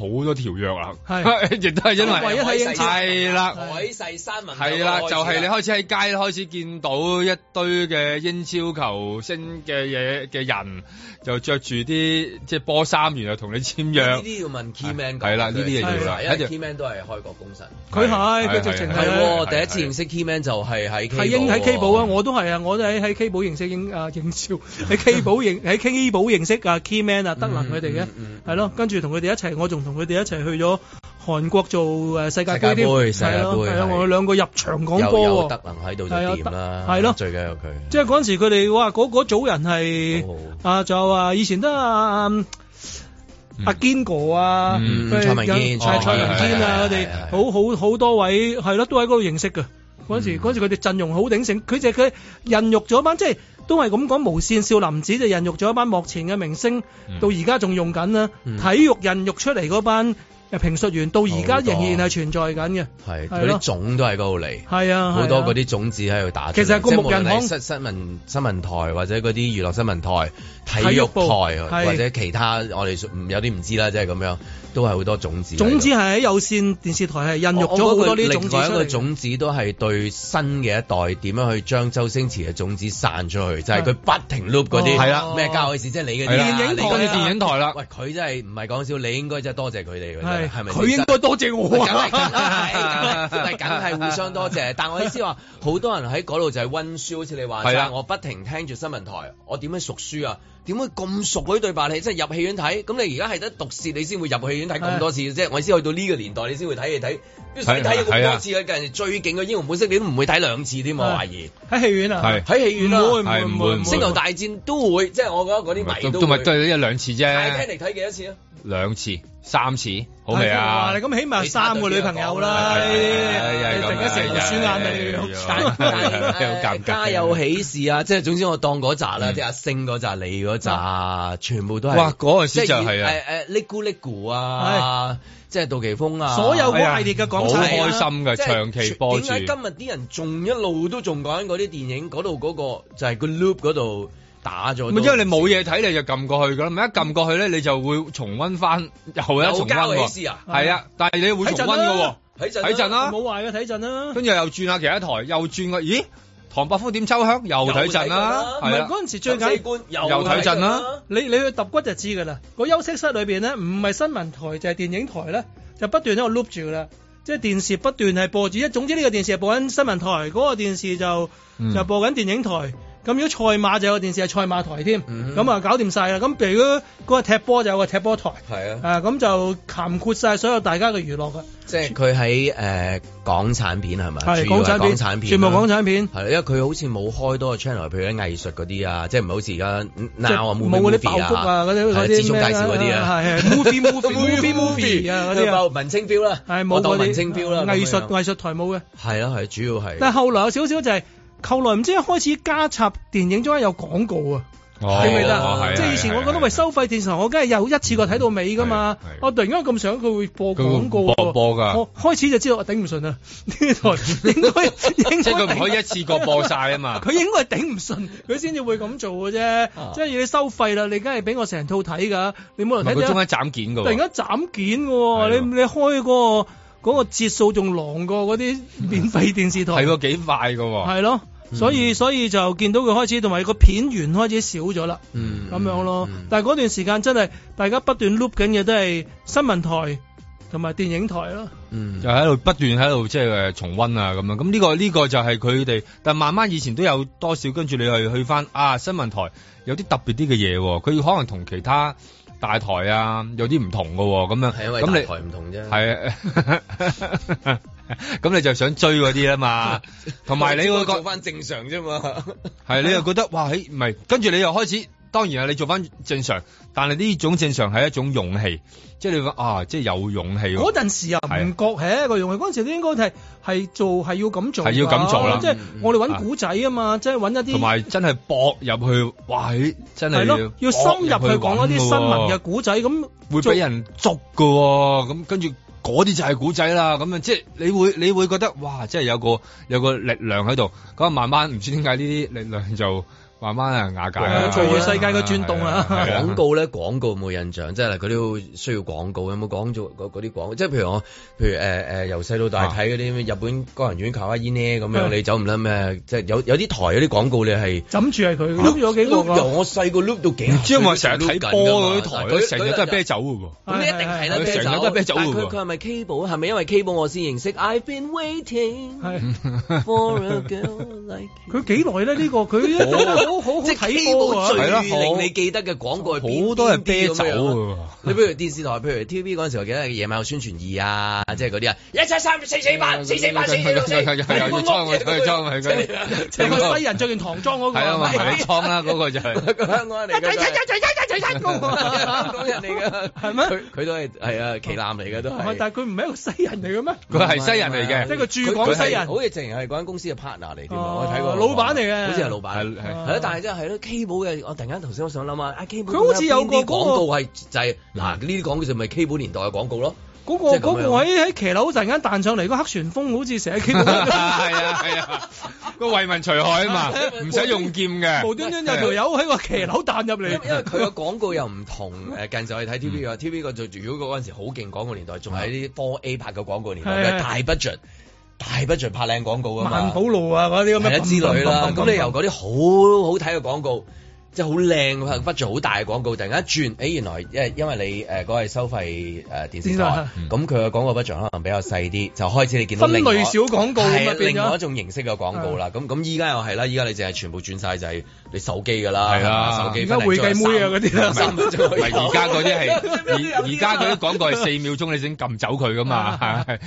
條約啦， 係亦都係因為唯一睇英超係啦， 海誓山盟係啦，就係你開始喺街開始見到一堆嘅英超球星嘅人，就着住啲即係波衫，然後同你簽約。 呢啲要問 key man 係啦，呢啲嘢要啦， 因為 key man 都係開國功臣。 佢直情係第一次認識 key man 就係喺 K 喺 K 寶啊！我都係啊！我都喺 K 寶認識英超喺 K 寶認識啊 key man 啊德能佢哋嘅係咯，跟住同佢哋一齊，我仲同佢哋一齊去咗韓國做世界盃添，係咯，係啊！我哋兩個入場講波喎， 德能喺度就掂啦， 係咯， 最緊要佢。 即係嗰陣時佢哋哇嗰組人係仲有啊以前都阿堅哥啊，蔡文堅啊，佢哋好多位係咯，都喺嗰度認識嘅。嗰時佢哋陣容好鼎盛，佢孕育咗班即係都係咁講，無線少林寺就孕育咗一班幕前嘅明星，到而家仲用緊啦。體育孕育出嚟嗰班評述員，到而家仍然係存在緊嘅。係嗰啲種都喺嗰度嚟， 係啊， 好多嗰啲種子喺度打。 其實係個木人巷新聞台或者嗰啲娛樂新聞台、體育台或者其他，我哋有啲唔知啦，即係咁樣。都係好多種子，種子係喺有線電視台係孕育咗好多呢啲種子出嚟。另外一個種子都係對新嘅一代點樣去將周星馳嘅種子散出去，就係佢不停 loop 嗰啲係啦，咩交嘅事，即係你嘅電影台啦。 喂，佢真係唔係講笑，你應該真係多謝佢哋嘅，係咪？ 佢應該多謝我， 梗係互相多謝。但我意思話，好多人喺嗰度就係溫書，好似你話齋，我不停聽住新聞台，我點樣熟書啊？點會咁熟嗰啲對白？你即係入戲院睇，咁你而家係得毒舌，你先會入戲院睇咁多次嘅啫。我先去到呢個年代，你先會睇戲睇，你睇咗咁多次嘅，人哋最勁嘅英雄本色，你都唔會睇兩次添，我懷疑。 喺戲院啊？ 喺戲院啊？ 唔會。 星球大戰都會，即係我覺得嗰啲迷都咪都係一兩次啫。 睇嚟睇幾多次啊 ？2次、3次，好未啊？ 你咁起碼3個女朋友啦，你成日選眼你， 家有喜事啊！即係總之我當嗰扎啦，即係阿星嗰扎、你嗰扎，全部都係。 哇！嗰陣時就係啊， 嚦咕嚦咕啊，即係杜琪峰啊， 所有嗰系列嘅港產， 好開心嘅，長期播住。 點解今日啲人仲一路都仲講緊嗰啲電影嗰度嗰個就係個 loop 嗰度？打咗， 因為你冇嘢睇，你就撳過去噶啦。咪一撳過去咧，你就會重溫翻，又一重溫喎。係啊，但係你會重溫噶喎，睇陣啦， 冇壞嘅睇陣啦。 跟住又轉下其他台，又轉個，咦？唐伯虎點秋香又睇陣啦。 唔係嗰陣時最緊又睇陣啦。 你去揼骨就知噶啦。個休息室裏邊咧，唔係新聞台就係電影台咧，就不斷喺度 loop 住噶啦。即係電視不斷係播住，總之呢個電視係播緊新聞台，嗰個電視就播緊電影台。咁如果賽馬就有個電視係賽馬台添，咁啊搞掂晒啦。咁譬如嗰個踢波就有個踢波台，係啊，咁就涵括晒所有大家嘅娛樂㗎。 即係佢喺港產片係咪？ 係港產片，全部港產片。 係因為佢好似冇開多個 channel，譬如啲藝術嗰啲啊，即係唔係好似而家 Now 啊冇嗰啲爆谷啊嗰啲資訊介紹嗰啲啊， 係 movie 啊嗰啲啊， 文青 feel 啦， 係冇嗰啲文青 feel 啦， 藝術台冇嘅。 係啊係，主要係。 但係後來有少少就係。後來唔知一開始加插電影中間有廣告啊，記唔記得？即係以前我覺得喂收費電視台，我梗係有一次過睇到尾噶嘛。我突然間咁想佢會播廣告， 播㗎。 我開始就知道我頂唔順啦。呢台應該即係佢唔可以一次過播晒啊嘛。 佢應該係頂唔順，佢先至會咁做嘅啫。即係你收費啦，你梗係俾我成套睇㗎。你冇人睇。 佢中間斬件㗎喎。 突然間斬件喎，你開嗰個節數仲狼過嗰啲免費電視台。 係喎，幾快㗎喎。 係咯。所以就見到佢開始，同埋個片源開始少咗啦，咁樣咯。但係嗰段時間真係大家不斷 loop 緊嘅都係新聞台同埋電影台咯。 就喺度不斷喺度即係重溫啊咁樣。咁呢個就係佢哋，但慢慢以前都有多少，跟住你去翻新聞台有啲特別啲嘅嘢，佢可能同其他大台啊有啲唔同㗎喎，咁樣。 係因為大台唔同啫。 係啊。咁你就想追嗰啲啊嘛，同埋你會做翻正常啫嘛。 係你又覺得哇，唔係，跟住你又開始，當然係你做翻正常，但係呢種正常係一種勇氣，即係你話即係有勇氣。 嗰陣時啊，唔覺係一個勇氣，嗰陣時都應該係要咁做， 係要咁做啦。 即係我哋揾古仔啊嘛，即係揾一啲同埋真係搏入去，哇！真係咯，要深入去講一啲新聞嘅古仔，咁會俾人捉㗎喎，咁跟住。嗰啲就係古仔啦，咁樣即係你會覺得哇，即係有個力量喺度，咁慢慢唔知點解呢啲力量就慢慢瓦解。 隨住世界嘅轉動啊！ 廣告咧，廣告冇印象，即係佢都需要廣告。有冇講咗嗰啲廣告？即係譬如由細到大睇嗰啲日本個人院卡哇伊呢咁樣，你走唔甩咩？即係有啲台嗰啲廣告你係枕住係佢碌咗幾個。由我細個碌到幾，唔知我成日睇波嗰啲台，佢成日都係啤酒嘅喎。咁一定係啦，啤酒。成日都係啤酒嘅喎。佢係咪 Cable？係咪因為 Cable 我先認識 ？I've been waiting for a girl like you。佢幾耐咧？呢個佢好即係睇波最令你記得嘅廣告係邊？好多係啤酒喎。你譬如電視台，譬如 TV 嗰陣時，我記得夜晚有宣傳2啊，即係嗰啲啊，173448444，要裝即係個西人着件唐裝嗰個，係啊嘛，唐裝啦嗰個就係香港人嚟嘅，香港人嚟嘅，係咩？佢都係啊旗艦嚟嘅都係，但係佢唔係一個西人嚟嘅咩？佢係西人嚟嘅，即係個駐港西人，好似淨係嗰間公司嘅 partner 嚟添，我睇過老闆嚟嘅，好似係老闆，係咯，但係真係咯 Cable 嘅，我突然間頭先我想諗啊，Cable 佢好似有個廣告係就係嗱呢啲廣告就咪 Cable 年代嘅廣告咯。嗰個喺騎樓突然間彈上嚟，個黑旋風好似成日 Cable 係啊，個為民除害啊嘛，唔使用劍嘅，無端端有條友喺個騎樓彈入嚟。因為佢個廣告又唔同近時我哋睇 TV 啊，TV 個如果嗰陣時好勁廣告年代，仲係啲 4A 拍嘅廣告年代，大 budget 拍靚廣告啊嘛，萬寶路啊嗰啲咁嘅之類啦。咁你由嗰啲好睇嘅廣告。即係好靚，budget 好大嘅廣告，突然間一轉，原來因為你嗰個係收費電視台，咁佢嘅廣告 budget 可能比較細啲，就開始你見到分類小廣告係另外一種形式嘅廣告啦。咁依家又係啦，依家你淨係全部轉晒就係你手機㗎啦，係啊，手機而家會計妹啊嗰啲啦，而家嗰啲係而家嗰啲廣告係4秒鐘你先撳走佢㗎嘛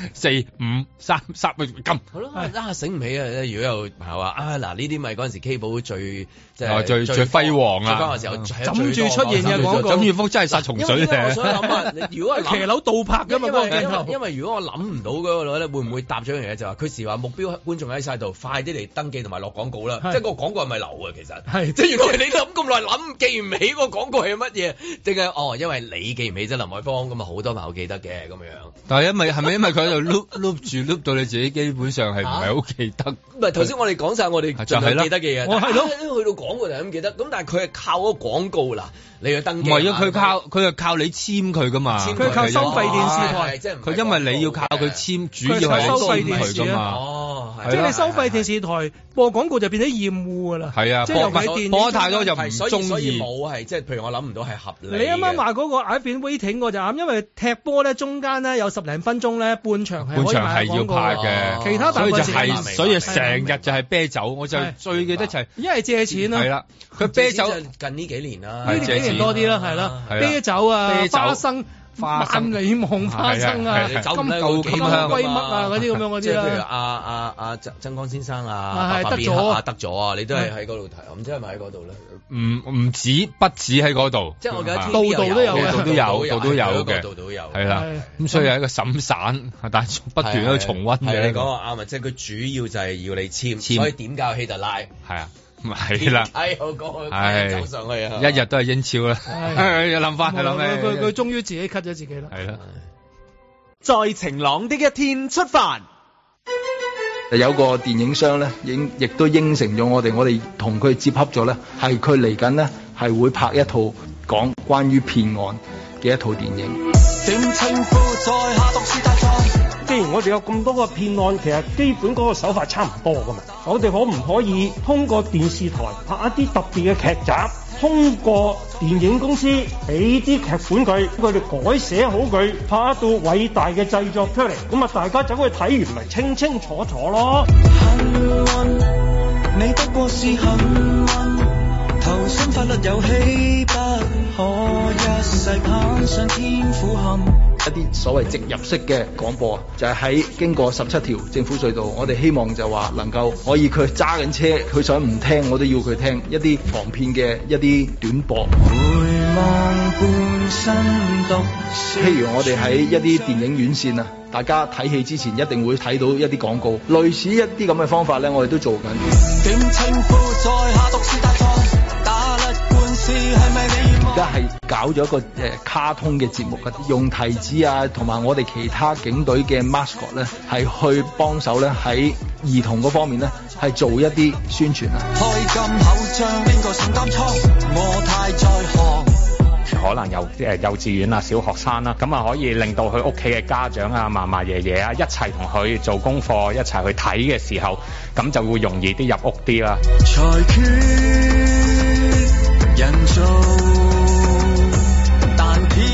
，4、5、3撳。好咯，醒唔起啊！如果有朋友話嗱呢啲咪嗰陣時 Cable 最即係最輝煌啊！時候枕住出現嘅廣告，枕住幅真係殺蟲水嘅。我想諗啊，如果係騎樓倒拍㗎嘛，因為如果我諗唔到嗰個咧，會唔會搭咗一樣嘢就話佢時話目標觀眾喺晒度，快啲嚟登記同埋落廣告啦。即係個廣告係咪流啊？其實係即係原來你諗咁耐諗記唔起個廣告係乜嘢？定係因為你記唔起啫，林海峰咁啊好多朋友記得嘅咁樣。但係係咪因為佢喺度碌到你自己基本上係唔係好記得？唔係頭先我哋講晒我哋盡量記得嘅嘢，係咯，去到廣告就係咁記得。咁但係佢係靠嗰個廣告嗱，你去登記。唔係啊，佢係靠你簽佢噶嘛。佢靠收費電視台，即係佢因為你要靠佢簽，主要係收費電視噶嘛。即係你收費電視台播廣告就變咗厭惡噶啦。係啊，播得太多就唔中意。所以冇係即係，譬如我諗唔到係合理。你啱啱話嗰個 I've been waiting 我就啱，因為踢波咧中間咧有10零分鐘咧半場係可以賣廣告。半場係要拍嘅，其他大部分所以成日就係啤酒，我就最記得就係一係借錢咯。係啦，佢啤酒近呢幾年啦，呢幾年多啲啦，係啦，啤酒啊，花生、萬里望花生啊，金龜乜啊嗰啲咁樣嗰啲啦。譬如阿曾江先生啊，得咗啊，你都係喺嗰度睇，唔知係咪喺嗰度咧？唔止，不止喺嗰度，即係我記得度度都有嘅，度都有，係啦。咁所以係一個審散，但係不斷喺度重溫嘅。你講話啱啊，即係佢主要就係要你簽，所以點教希特拉係啊。係啦，我講佢走上去啊，一日都係英超啦，諗翻係諗咩？佢終於自己 cut 咗自己啦。係啦，在晴朗的一天出發。 有個電影商咧，亦都應承咗我哋同佢接洽咗咧，係佢嚟緊呢係會拍一套講關於騙案嘅一套電影。既然我哋有咁多個騙案，其實基本嗰個手法差唔多噶嘛，我哋可唔可以通過電視台拍一啲特別嘅劇集，通過電影公司俾啲劇本佢哋改寫好佢，拍一套偉大嘅製作出嚟，咁啊大家走去睇完咪清清楚楚咯。幸運，你不過是幸運，投身法律遊戲不可一世攀上天苦坎。一啲所謂直入式嘅廣播啊，就係喺經過17條政府隧道，我哋希望就話能夠可以佢揸緊車，佢想唔聽我都要佢聽一啲防騙嘅一啲短播。譬如我哋喺一啲電影院線啊，大家睇戲之前一定會睇到一啲廣告，類似一啲咁嘅方法咧，我哋都做緊。點稱呼在下毒是大錯，打甩官司係咪你而家係搞咗一個卡通嘅節目嘅，用提子啊同埋我哋其他警隊嘅 mascot 咧，係去幫手咧喺兒童嗰方面咧係做一啲宣傳啊。開金口將邊個承擔倉？我太在行。 可能有幼稚園啊、小學生啦，咁啊可以令到佢屋企嘅家長啊、嫲嫲爺爺啊一齊同佢做功課，一齊去睇嘅時候，咁就會容易啲入屋啲啦。裁決人造但偏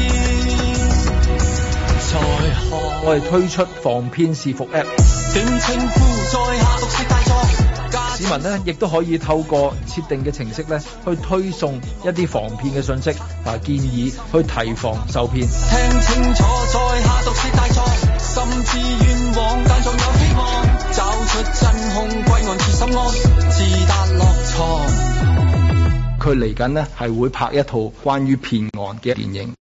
在行。我哋推出防騙視伏 App， 定稱呼在下毒舌大狀。市民咧亦都可以透過設定嘅程式咧，去推送一啲防騙嘅信息啊，建議去提防受騙。聽清楚，在下毒舌大狀，甚至冤枉，但仲有希望，找出真兇，歸案處心安，自達落床。佢嚟緊呢係會拍一套關於騙案嘅電影。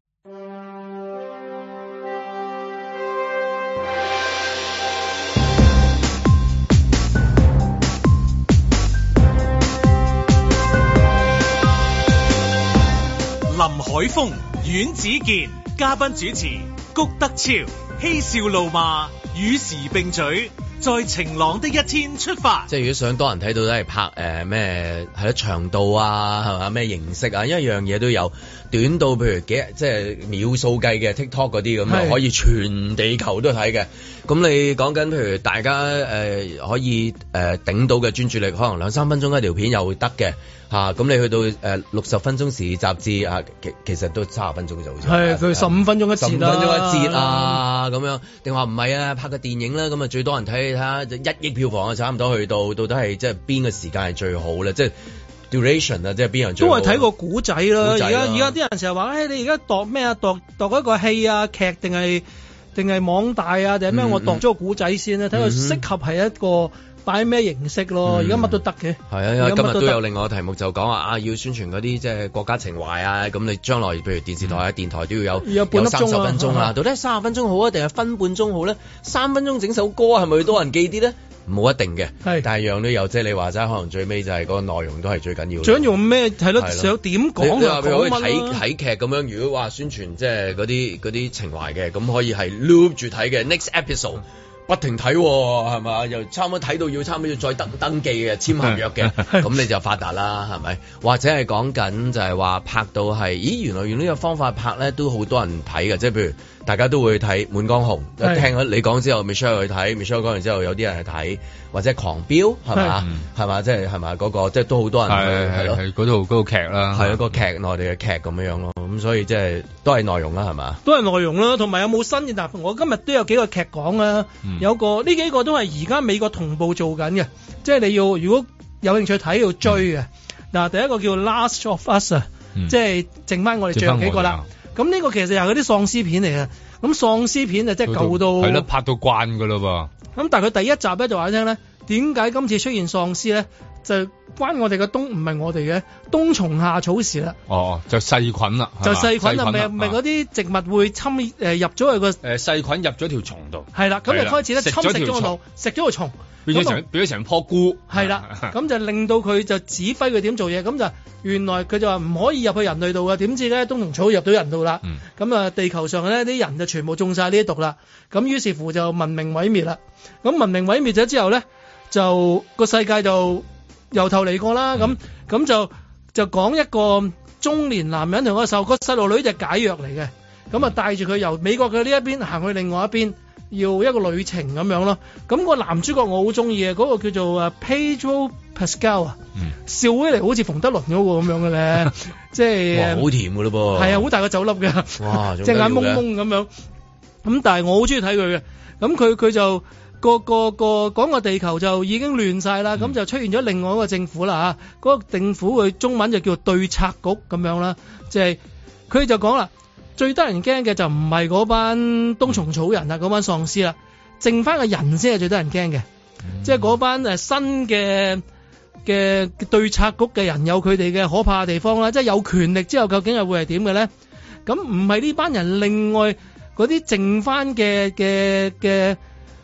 林海峰、阮子健嘉賓主持，谷德超嬉笑怒罵，與時並舉，在晴朗的一天出發。 即係如果想多人睇到都係拍咩係咯長度啊係嘛咩形式啊，因為樣嘢都有短到譬如即係秒數計嘅 TikTok 嗰啲咁啊，可以全地球都睇嘅。咁你講緊譬如大家可以頂到嘅專注力，可能2-3分鐘一條片又會得嘅。咁你去到60分鐘時雜誌啊，其實都30分鐘就好似係佢15分鐘一節啦，15分鐘一節啊咁樣，定話唔係啊？拍個電影啦，咁啊最多人睇下1億票房啊，差唔多去到底係即係邊個時間係最好咧？即係 duration 啊，即係邊樣最好？都係睇個古仔啦。而家啲人成日話，你而家度咩啊？度一個戲啊劇定係網大啊定係咩？我度咗個古仔先啦，睇佢適合係一個。擺咩形式咯？而家乜都得嘅。係啊，因為今日都有另外個題目就講話要宣傳嗰啲即係國家情懷啊。咁你將來譬如電視台啊、電台都要有30分鐘啊。到底係30分鐘好啊，定係分半鐘好咧？3分鐘整首歌係咪多人記啲咧？冇一定嘅，但係樣都有。即係你話齋，可能最尾就係嗰個內容都係最緊要。最緊要咩？係咯，想點講就講乜咯。睇劇咁樣，如果話宣傳即係嗰啲情懷嘅，咁可以係 loop 住睇嘅 next episode。不停睇係嘛，又差唔多睇到要差唔多要再登記嘅簽合約嘅，咁你就發達啦，係咪？或者係講緊就係話拍到係，咦原來用呢個方法拍咧都好多人睇嘅，即係譬如大家都會睇《滿江紅》，聽咗你講之後 Michelle 去睇 Michelle 講完之後有啲人去睇，或者狂飆係嘛，係嘛，即係係嘛嗰個即係都好多人去係咯，係嗰套劇啦，係一個劇內地嘅劇咁樣咯，咁所以即係都係內容啦，係嘛？都係內容啦，同埋有冇新嘅？但我今日都有幾個劇講啦。有個呢幾個都係而家美國同步做緊嘅，即係你要如果有興趣睇要追嘅。嗱，第一個叫 Last of Us 啊，即係剩翻我哋最後幾個啦。咁呢個其實又係嗰啲喪屍片嚟嘅。咁喪屍片就即係舊到係咯，拍到慣噶啦噃。咁但係佢第一集咧就話你聽咧，點解今次出現喪屍咧？就關我哋嘅唔係我哋嘅冬蟲夏草事啦。哦，就細菌啦，就細菌啊，咪嗰啲植物會侵入咗去個細菌入咗條蟲度。係啦，咁就開始咧侵蝕咗個腦，食咗個蟲，變咗成棵菇。係啦，咁就令到佢就指揮佢點做嘢。咁就原來佢就話唔可以入去人類度嘅，點知咧冬蟲草入到人度啦。咁啊，地球上咧啲人就全部中晒呢啲毒啦。咁於是乎就文明毀滅啦。咁文明毀滅咗之後咧，就個世界就由頭嚟過啦，咁就講一個中年男人同個細路女就解藥嚟嘅，咁啊帶住佢由美國嘅呢一邊行去另外一邊，要一個旅程咁樣咯。咁個男主角我好中意嘅，嗰個叫做Pedro Pascal 啊，笑起嚟好似馮德倫嗰個咁樣嘅咧，即係好甜嘅咯噃，係啊，好大個酒粒嘅，哇，隻眼蒙蒙咁樣。咁但係我好中意睇佢嘅，咁佢就。個講個地球就已經亂晒啦，咁就出現咗另外一個政府啦嚇，嗰個政府佢中文就叫對策局咁樣啦，即係佢就講啦，最得人驚嘅就唔係嗰班冬蟲草人啊，嗰班喪屍啦，剩翻個人先係最得人驚嘅，即係嗰班新嘅對策局嘅人有佢哋嘅可怕嘅地方啦，即係有權力之後究竟係會係點嘅咧？咁唔係呢班人，另外嗰啲剩翻嘅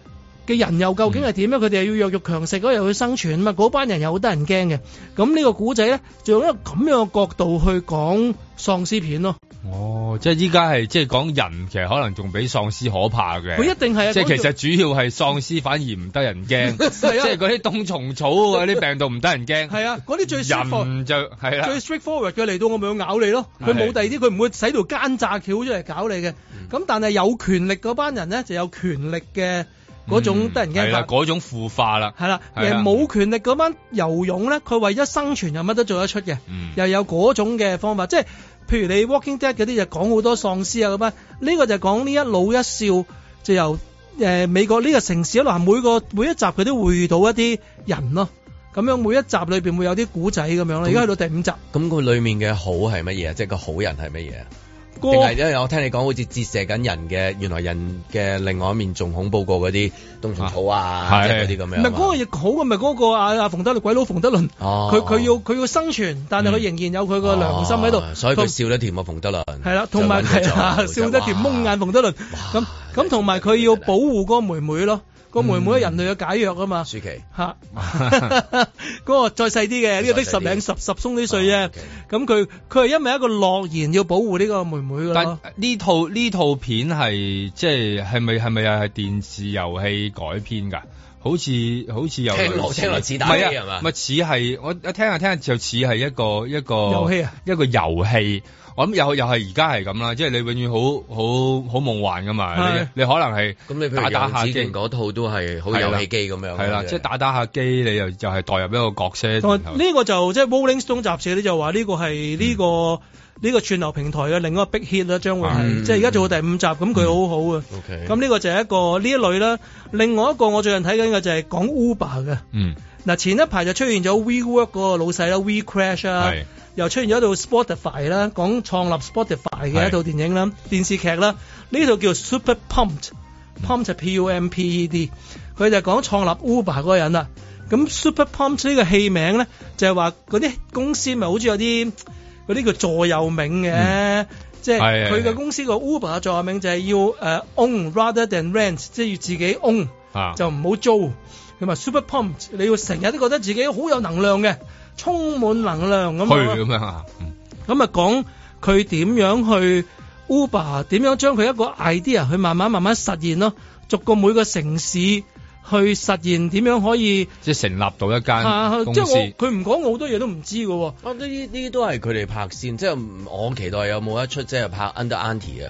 嘅人又究竟係點咧？佢哋又要弱肉強食，又要生存啊嘛！嗰班人又好得人驚嘅。咁呢個古仔咧，就用一個咁樣嘅角度去講喪屍片咯。 哦，即係依家係即係講人，其實可能仲比喪屍可怕嘅。 佢一定係， 即係其實主要係喪屍反而唔得人驚，即係嗰啲冬蟲草嗰啲病毒唔得人驚。 係啊，嗰啲最人就係啦， 最 straightforward 嘅嚟到我咪要咬你咯。佢冇第二啲，佢唔會使條奸詐橋出嚟搞你嘅。咁但係有權力嗰班人咧，就有權力嘅嗰種得人驚。係啦， 嗰種腐化啦。係啦， 冇權力嗰班游勇咧，佢為咗生存又乜都做得出嘅。又有嗰種嘅方法，即係。譬如你 Walking Dead 嗰啲就講好多喪屍啊咁啊，呢個就講呢一老一少就由美國呢個城市一路行，每一集佢都會遇到一啲人咯，咁樣每一集裏邊會有啲古仔咁樣啦。而家去到第5集， 咁佢裏面嘅好係乜嘢？即係個好人係乜嘢？定係因為我聽你講好似折射緊人嘅，原來人嘅另外一面仲恐怖過嗰啲冬蟲草啊，即係嗰啲咁樣。唔係嗰個亦好嘅，咪嗰個阿馮德倫鬼佬馮德倫，佢要生存，但係佢仍然有佢個良心喺度，所以佢笑得甜啊馮德倫。係啦，同埋笑得甜蒙眼馮德倫。咁同埋佢要保護嗰個妹妹咯。個妹妹係人類嘅解藥啊嘛， 舒淇嚇，嗰個再細啲嘅，呢個得十鬆啲歲啫。咁佢係因為一個諾言要保護呢個妹妹㗎咯。 但呢套片係即係咪又係電視遊戲改編㗎？好似有聽落似打機係嘛？ 咪似係我聽下就似係一個遊戲啊， 一個遊戲。我諗又係而家係咁啦，即係你永遠好夢幻噶嘛，你可能係咁你譬如打下機嗰套都係好遊戲機咁樣， 係啦，即係打下機你又係代入一個角色。 呢個就即係 Rolling Stone 雜誌咧就話呢個係呢個串流平台嘅另一個 big hit 啦，將會係即係而家做到第5集，咁佢好好啊。咁呢個就係一個呢一類啦。另外一個我最近睇緊嘅就係講 Uber 嘅。嗱前一排就出現咗 WeWork 嗰個老細啦 ，WeCrash 啊。又出現咗一套 Spotify 啦，講創立 Spotify 嘅一套電影啦、電視劇啦。呢套叫 Super Pumped，Pumped 係 P-U-M-P-E-D。佢就講創立 Uber 嗰個人啦。咁 Super Pumped 呢個戲名咧，就係話嗰啲公司咪好似有啲嗰啲叫座右銘嘅，即係佢嘅公司個 Uber 嘅座右銘就係要own rather than rent， 即係要自己 own，就唔好租。咁話 Super Pumped， 你要成日都覺得自己好有能量嘅。充滿能量咁樣啊！ 咁啊講佢點樣去 Uber 點樣將佢一個 idea 去慢慢實現咯，逐個每個城市去實現點樣可以即係成立到一間公司。 即係佢唔講我好多嘢都唔知㗎喎。 呢啲都係佢哋拍先，即係我期待有冇一出即係拍 Under Auntie 啊！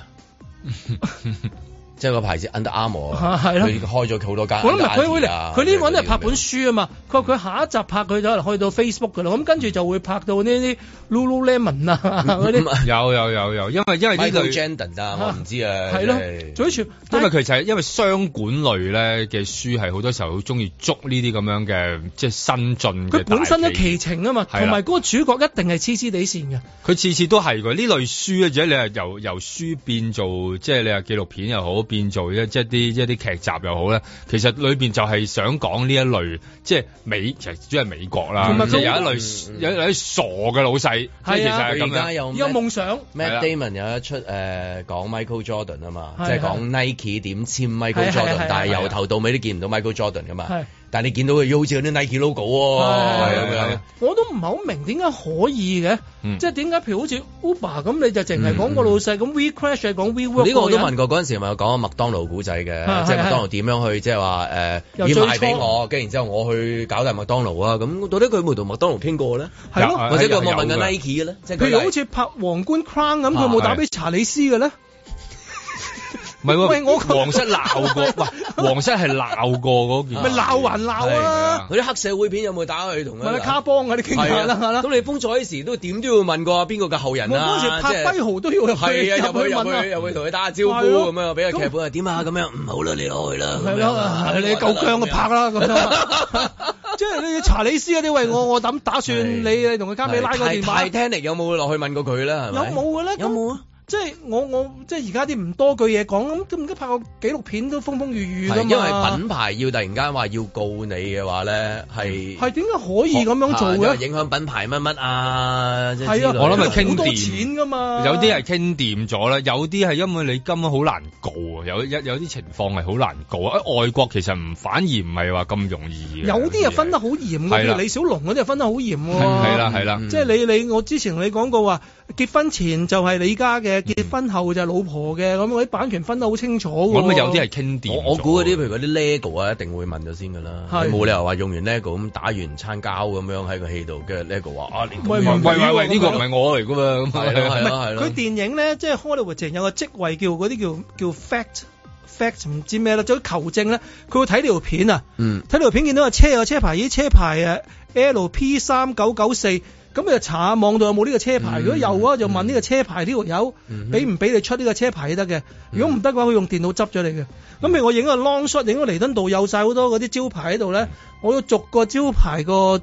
即係個牌子 Under Armour，佢開咗好多間。 佢呢個都係拍本書啊嘛。佢話佢下一集拍佢就可能去到 Facebook 㗎啦。咁跟住就會拍到呢啲 Lululemon 啊嗰啲。 有，因為呢類 Jordan 啊，我唔知啊。 係咯，總之因為佢就係因為商管類咧嘅書係好多時候好中意捉呢啲咁樣嘅即係新進嘅。佢本身都奇情啊嘛，同埋嗰個主角一定係黐黐地線嘅。 佢次次都係㗎，呢類書或者你係由書變做即係你係紀錄片又好。變做即係啲劇集又好咧，其實裏邊就係想講呢一類，即係其實主要係美國啦，即係有一類有啲傻嘅老細，即係其實係咁樣。 有夢想。 Matt Damon 有一出講 Michael Jordan 啊嘛，即係講 Nike 點簽 Michael Jordan，但係由頭到尾都見唔到 Michael Jordan 噶嘛。但係你見到佢好似有啲 Nike logo 喎，咁樣。我都唔係好明點解可以嘅，即係點解譬如好似 Uber 咁，你就淨係講個老細，咁 WeCrash 係講 WeWork。呢個我都問過嗰陣時，咪有講麥當勞古仔嘅，即係麥當勞點樣去即係話要賣俾我，跟住然之後我去搞大麥當勞啊，咁到底佢冇同麥當勞傾過咧？係咯，或者佢有冇問緊 Nike 嘅咧？譬如好似拍皇冠 Crown 咁，佢冇打俾查理斯嘅咧？ 唔係喎，皇室鬧過，喂，皇室係鬧過嗰件， 咪鬧還鬧啊！ 嗰啲黑社會片有冇打去同佢？卡邦啊，啲傾下啦， 咁你封咗嗰時都點都要問過邊個嘅後人啊？ 嗰時拍跛豪都要入去同佢打下招呼咁樣，俾個劇本啊點啊咁樣，唔好啦，你攞去啦。係咯， 你夠薑就拍啦咁樣。即係你查理斯嗰啲喂，我打算你同佢加美拉個電話。 Titanic有冇落去問過佢啦？ 有冇嘅咧？ 有冇啊？ 即係我即係而家啲唔多句嘢講，咁而家拍個紀錄片都風風雨雨㗎嘛。 因為品牌要突然間話要告你嘅話咧，係點解可以咁樣做嘅？ 影響品牌乜乜啊？ 係啊， 我諗係傾掂，好多錢㗎嘛。 有啲係傾掂咗啦，有啲係因為你根本好難告啊，有啲情況係好難告啊。外國其實反而唔係話咁容易嘅。有啲又分得好嚴嘅，譬如李小龍嗰啲又分得好嚴喎。 係啦， 即係你我之前同你講過話，結婚前就係你家嘅，結婚後就係老婆嘅，咁嗰啲版權分得好清楚。 我諗有啲係傾掂。 我估嗰啲譬如嗰啲 LEGO 啊，一定會問咗先㗎啦。冇理由話用完 LEGO 咁打完餐膠咁樣喺個戲度，跟住 LEGO 話喂，呢個唔係我嚟㗎嘛。係啦。佢電影咧，即係 Hollywood 淨有個職位叫嗰啲叫 fact 唔知咩啦，就求證咧，佢會睇呢條片啊。睇呢條片見到個車有車牌，咦車牌LP3994。咁你就查下網度有冇呢個車牌，如果有啊，就問呢個車牌呢條友俾唔俾你出呢個車牌得嘅。如果唔得嘅話，佢用電腦執咗你嘅。咁譬如我影個 long shot，影個彌敦道有晒好多嗰啲招牌喺度咧，我要逐個招牌個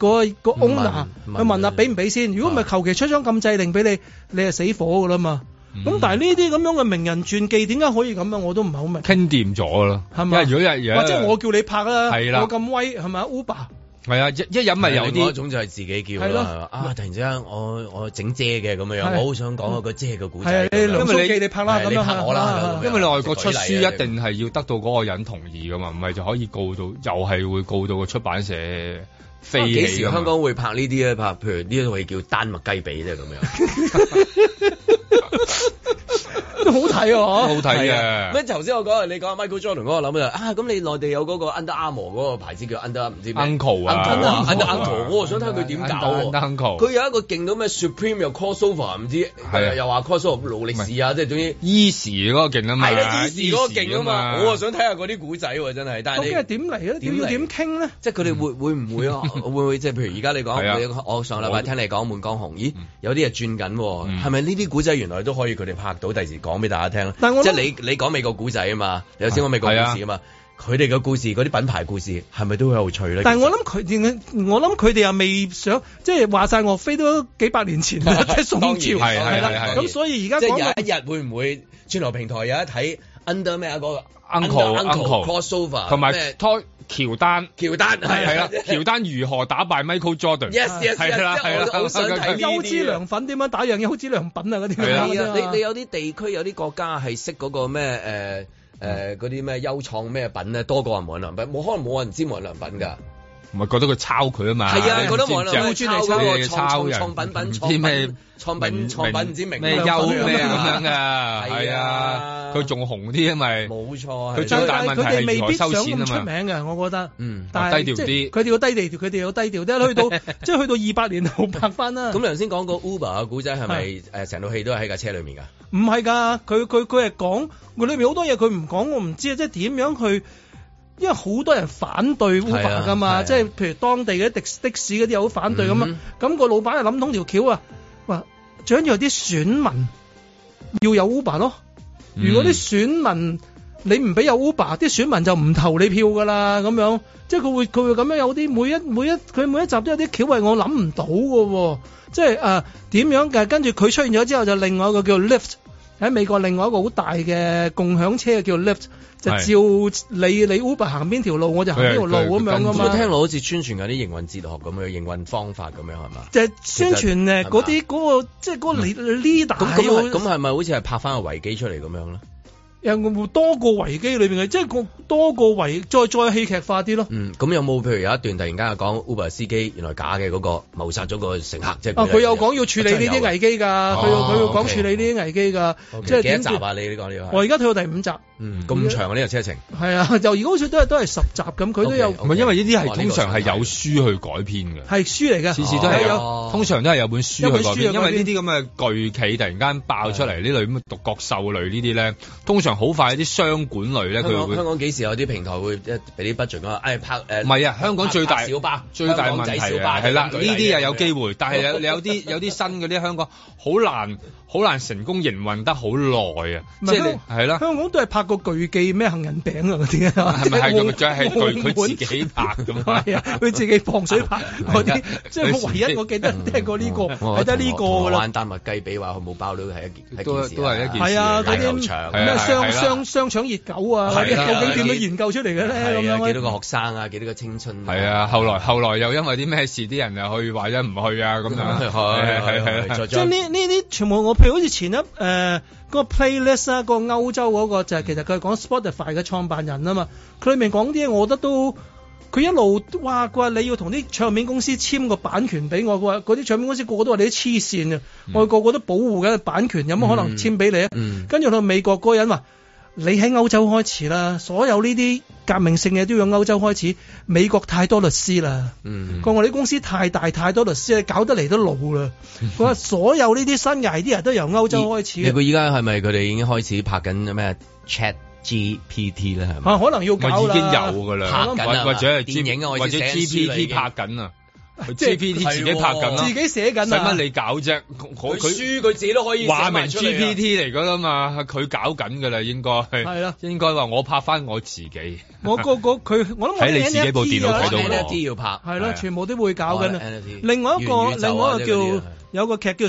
owner 去問下俾唔俾先。如果唔係求其出張禁制令俾你，你係死火噶啦嘛。咁但係呢啲咁樣嘅名人傳記點解可以咁樣，我都唔係好明。 傾掂咗咯，係咪？如果或者我叫你拍啦， 我咁威係咪 Uber？ 係啊，一飲咪有啲嗰種就係自己叫啦，突然之間我整遮嘅咁樣，我好想講個遮嘅故仔。 因為你拍啦，咁樣拍我啦。 因為你外國出書一定係要得到嗰個人同意噶嘛，唔係就可以告到，又係會告到個出版社飛起。 幾時香港會拍呢啲咧？拍譬如呢一套戲叫丹麥雞髀啫咁樣。 都好睇喎， 好睇嘅。 咩頭先我講你講 Michael Jordan 嗰個諗就咁你內地有嗰個 Under Armour 嗰個牌子叫 Under 唔知咩 Uncle 啊 Under Uncle， 我想睇佢點搞。佢有一個勁到咩 Supreme 又 crossover 唔知又話 crossover 勞力士啊，即係總之 Easy 嗰個勁啊嘛， 係啦 Easy 嗰個勁啊嘛，我想睇下嗰啲古仔喎真係。但係你究竟係點嚟咧？點傾咧？ 即係佢哋會唔會啊？會唔會即係譬如而家你講，我上禮拜聽你講滿江紅，咦有啲嘢轉緊喎，係咪呢啲古仔原來都可以佢哋拍到，第時講俾大家聽？即係你講美國古仔啊嘛，有先講美國故事啊嘛，佢哋嘅故事嗰啲品牌故事係咪都好有趣咧？ 但係我諗佢哋又未想，即係話晒岳飛都幾百年前啦，即係宋朝係啦。咁所以而家講有一日會唔會串流平台有一睇 Under 咩啊嗰個 Uncle crossover 同埋喬丹係啦，喬丹如何打敗 Michael Jordan？Yes， 係啦， 我好想睇優之良品點樣打贏優之良品啊嗰啲。 你有啲地區有啲國家係識嗰個咩嗰啲咩優創咩品咧，多過人無印良品，冇可能冇人知無印良品㗎。 唔係覺得佢抄佢啊嘛？ 係啊，覺得無印良品抄嗰個創品唔知名咩優咩咁樣㗎？係啊，佢仲紅啲啊咪？ 冇錯， 佢最大問題係未必想收錢啊嘛。 出名嘅，我覺得。 但係低調啲。 佢哋要低調，佢哋要低調啲。去到200年後拍翻啦。 咁你頭先講個 Uber 嘅古仔係咪成套戲都係喺架車裏面㗎？ 唔係㗎，佢係講佢裏面好多嘢佢唔講，我唔知啊，即係點樣去。因為好多人反對 Uber 㗎嘛，即係譬如當地嘅的士嗰啲又好反對咁啊，咁個老闆就諗通條橋啊，話最緊要啲選民要有 Uber 咯。如果啲選民你唔俾有 Uber，啲選民就唔投你票㗎啦。咁樣即係佢會咁樣有啲佢每一集都有啲橋係我諗唔到嘅喎，即係點樣嘅？跟住佢出現咗之後，就另外一個叫 Lyft 喺美國，另外一個好大嘅共享車叫 Lyft。就照你 Uber 行邊條路，我就行邊條路咁樣噶嘛。 聽落好似宣傳緊啲營運哲學咁樣，營運方法咁樣係嘛？ 就係宣傳嗰啲嗰個即係嗰個 leader。 咁係咪好似係拍翻個維基出嚟咁樣咧？ 有多個維基裏邊嘅，即係多個維再戲劇化啲咯。 咁有冇譬如有一段突然間講 Uber 司機原來假嘅嗰個謀殺咗個乘客，即係佢有講要處理呢啲危機㗎，佢要講處理呢啲危機㗎。即係幾多集啊？你呢個呢個？ 我而家睇到第5集。 咁長呢個車程？係啊，就而家好似都係10集咁，佢都有。 唔係因為呢啲係通常係有書去改編嘅， 係書嚟嘅， 次次都係有，通常都係有本書去改編。因為呢啲咁嘅巨企突然間爆出嚟，呢類咁嘅獨角獸類呢啲咧，通常常好快啲商管類咧，佢會香港幾時有啲平台會俾啲 budget 講拍唔係啊，香港最大小巴最大問題係啦，呢啲又有機會，但係有啲新嗰啲香港好難成功營運得好耐啊！即係係啦， 香港都係拍個巨記咩杏仁餅啊嗰啲啊， 係咪係咁？仲係佢自己拍咁係啊，佢自己放水拍嗰啲，即係我唯一我記得聽過呢個係得呢個㗎啦。 玩丹麥雞髀話佢冇包料係一件都係一件事。 係啊，嗰啲咩雙腸熱狗啊，究竟點樣研究出嚟嘅咧？咁樣幾多個學生啊，幾多個青春？ 係啊，後來又因為啲咩事，啲人又去或者唔去啊咁樣。係即係呢啲全部我譬如好似前一嗰個 playlist 啊，個歐洲嗰個就係其實佢係講 Spotify 嘅創辦人啊嘛，佢裏面講啲嘢，我覺得都佢一路話佢話你要同啲唱片公司簽個版權俾我，佢話嗰啲唱片公司個個都話你啲黐線啊，我哋個個都保護緊版權，有乜可能簽俾你啊？跟住到美國嗰個人話。你喺歐洲開始啦，所有呢啲革命性嘅都要歐洲開始。美國太多律師啦，佢話我哋公司太大太多律師，搞得嚟都老啦。佢話所有呢啲新嘅 idea 都由歐洲開始。 佢依家係咪佢哋已經開始拍緊咩 Chat GPT 咧？係咪？ 可能要搞啦， 已經有㗎啦， 拍緊或者係電影啊， 或者 GPT 拍緊啊。GPT 自己拍緊啦， 自己寫緊啊！ 使乜你搞啫？ 佢書佢自己都可以話明 GPT 嚟㗎啦嘛，佢搞緊㗎啦，應該係啦，應該話我拍翻我自己。 我諗喺你自己部電腦睇到我。 NFT 要拍係咯，全部都會搞緊啊！另外一個叫有個劇叫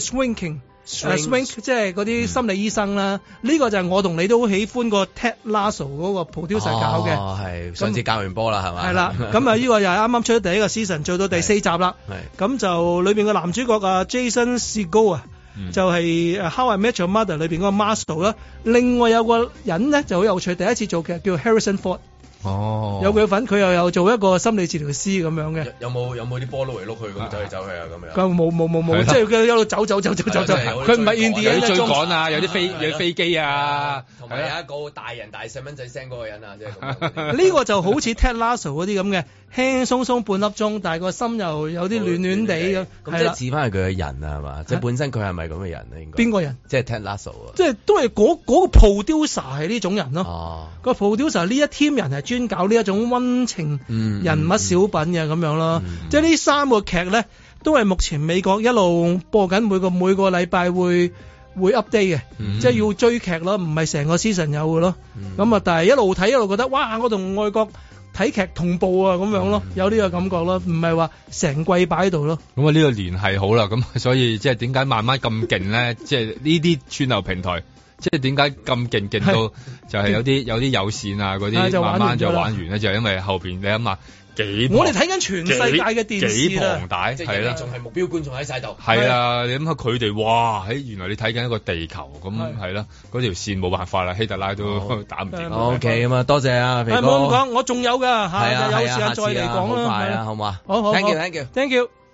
Swing 即係嗰啲心理醫生啦，呢個就係我同你都好喜歡個 Ted Lasso 嗰個 producer 搞嘅。 係上次教完波啦，係嘛？ 係啦，咁啊呢個又係啱啱出咗第一個 season，做到第4集啦。咁就裏邊個男主角啊 Jason Segel 啊，就係 How I Met Your Mother 裏邊嗰個 Marshall 啦。另外有個人咧就好有趣，第一次做劇叫 Harrison Ford。有佢份，佢又有做一個心理治療師咁樣嘅。有冇啲波碌嚟碌去咁走嚟走去啊咁樣？冇，即係佢一路走。佢唔係 India 有啲追趕啊，有啲飛機啊， 同埋有一個大人大細蚊仔聲嗰個人啊，即係咁。 呢個就好似 Ted Lasso 嗰啲咁嘅，輕輕鬆鬆半粒鐘，但係個心又有啲暖暖地咁。 咁即係似翻係佢嘅人啊，係嘛？即係本身佢係咪咁嘅人咧？應該邊個人？ 即係 Ted Lasso 啊！ 即係都係嗰個 producer 係呢種人咯。個 producer 呢一 team 人係專搞呢一種溫情人物小品嘅咁樣咯。即係呢3個劇咧，都係目前美國一路播緊，每個禮拜會 update 嘅，即係要追劇咯，唔係成個 season 有嘅咯。咁啊，但係一路睇一路覺得，哇！我同外國睇劇同步啊，咁樣咯，有呢個感覺咯，唔係話成季擺喺度咯。 咁啊，呢個聯繫好啦，咁所以即係點解慢慢咁勁咧？即係呢啲串流平台。即係點解咁勁到就係有啲有線啊嗰啲慢慢就玩完咧，就係因為後邊你諗下我哋睇緊全世界嘅電視幾龐大，係啦， 仲係目標觀眾喺晒度。 係啊，你諗下佢哋哇，原來你睇緊一個地球咁係啦，嗰條線冇辦法啦，希特拉都打唔掂。 OK 咁啊，多謝啊，肥哥。 唔好咁講，我仲有㗎嚇，有時間再嚟講啦。 好快啊，好嘛？ 好 ，thank you。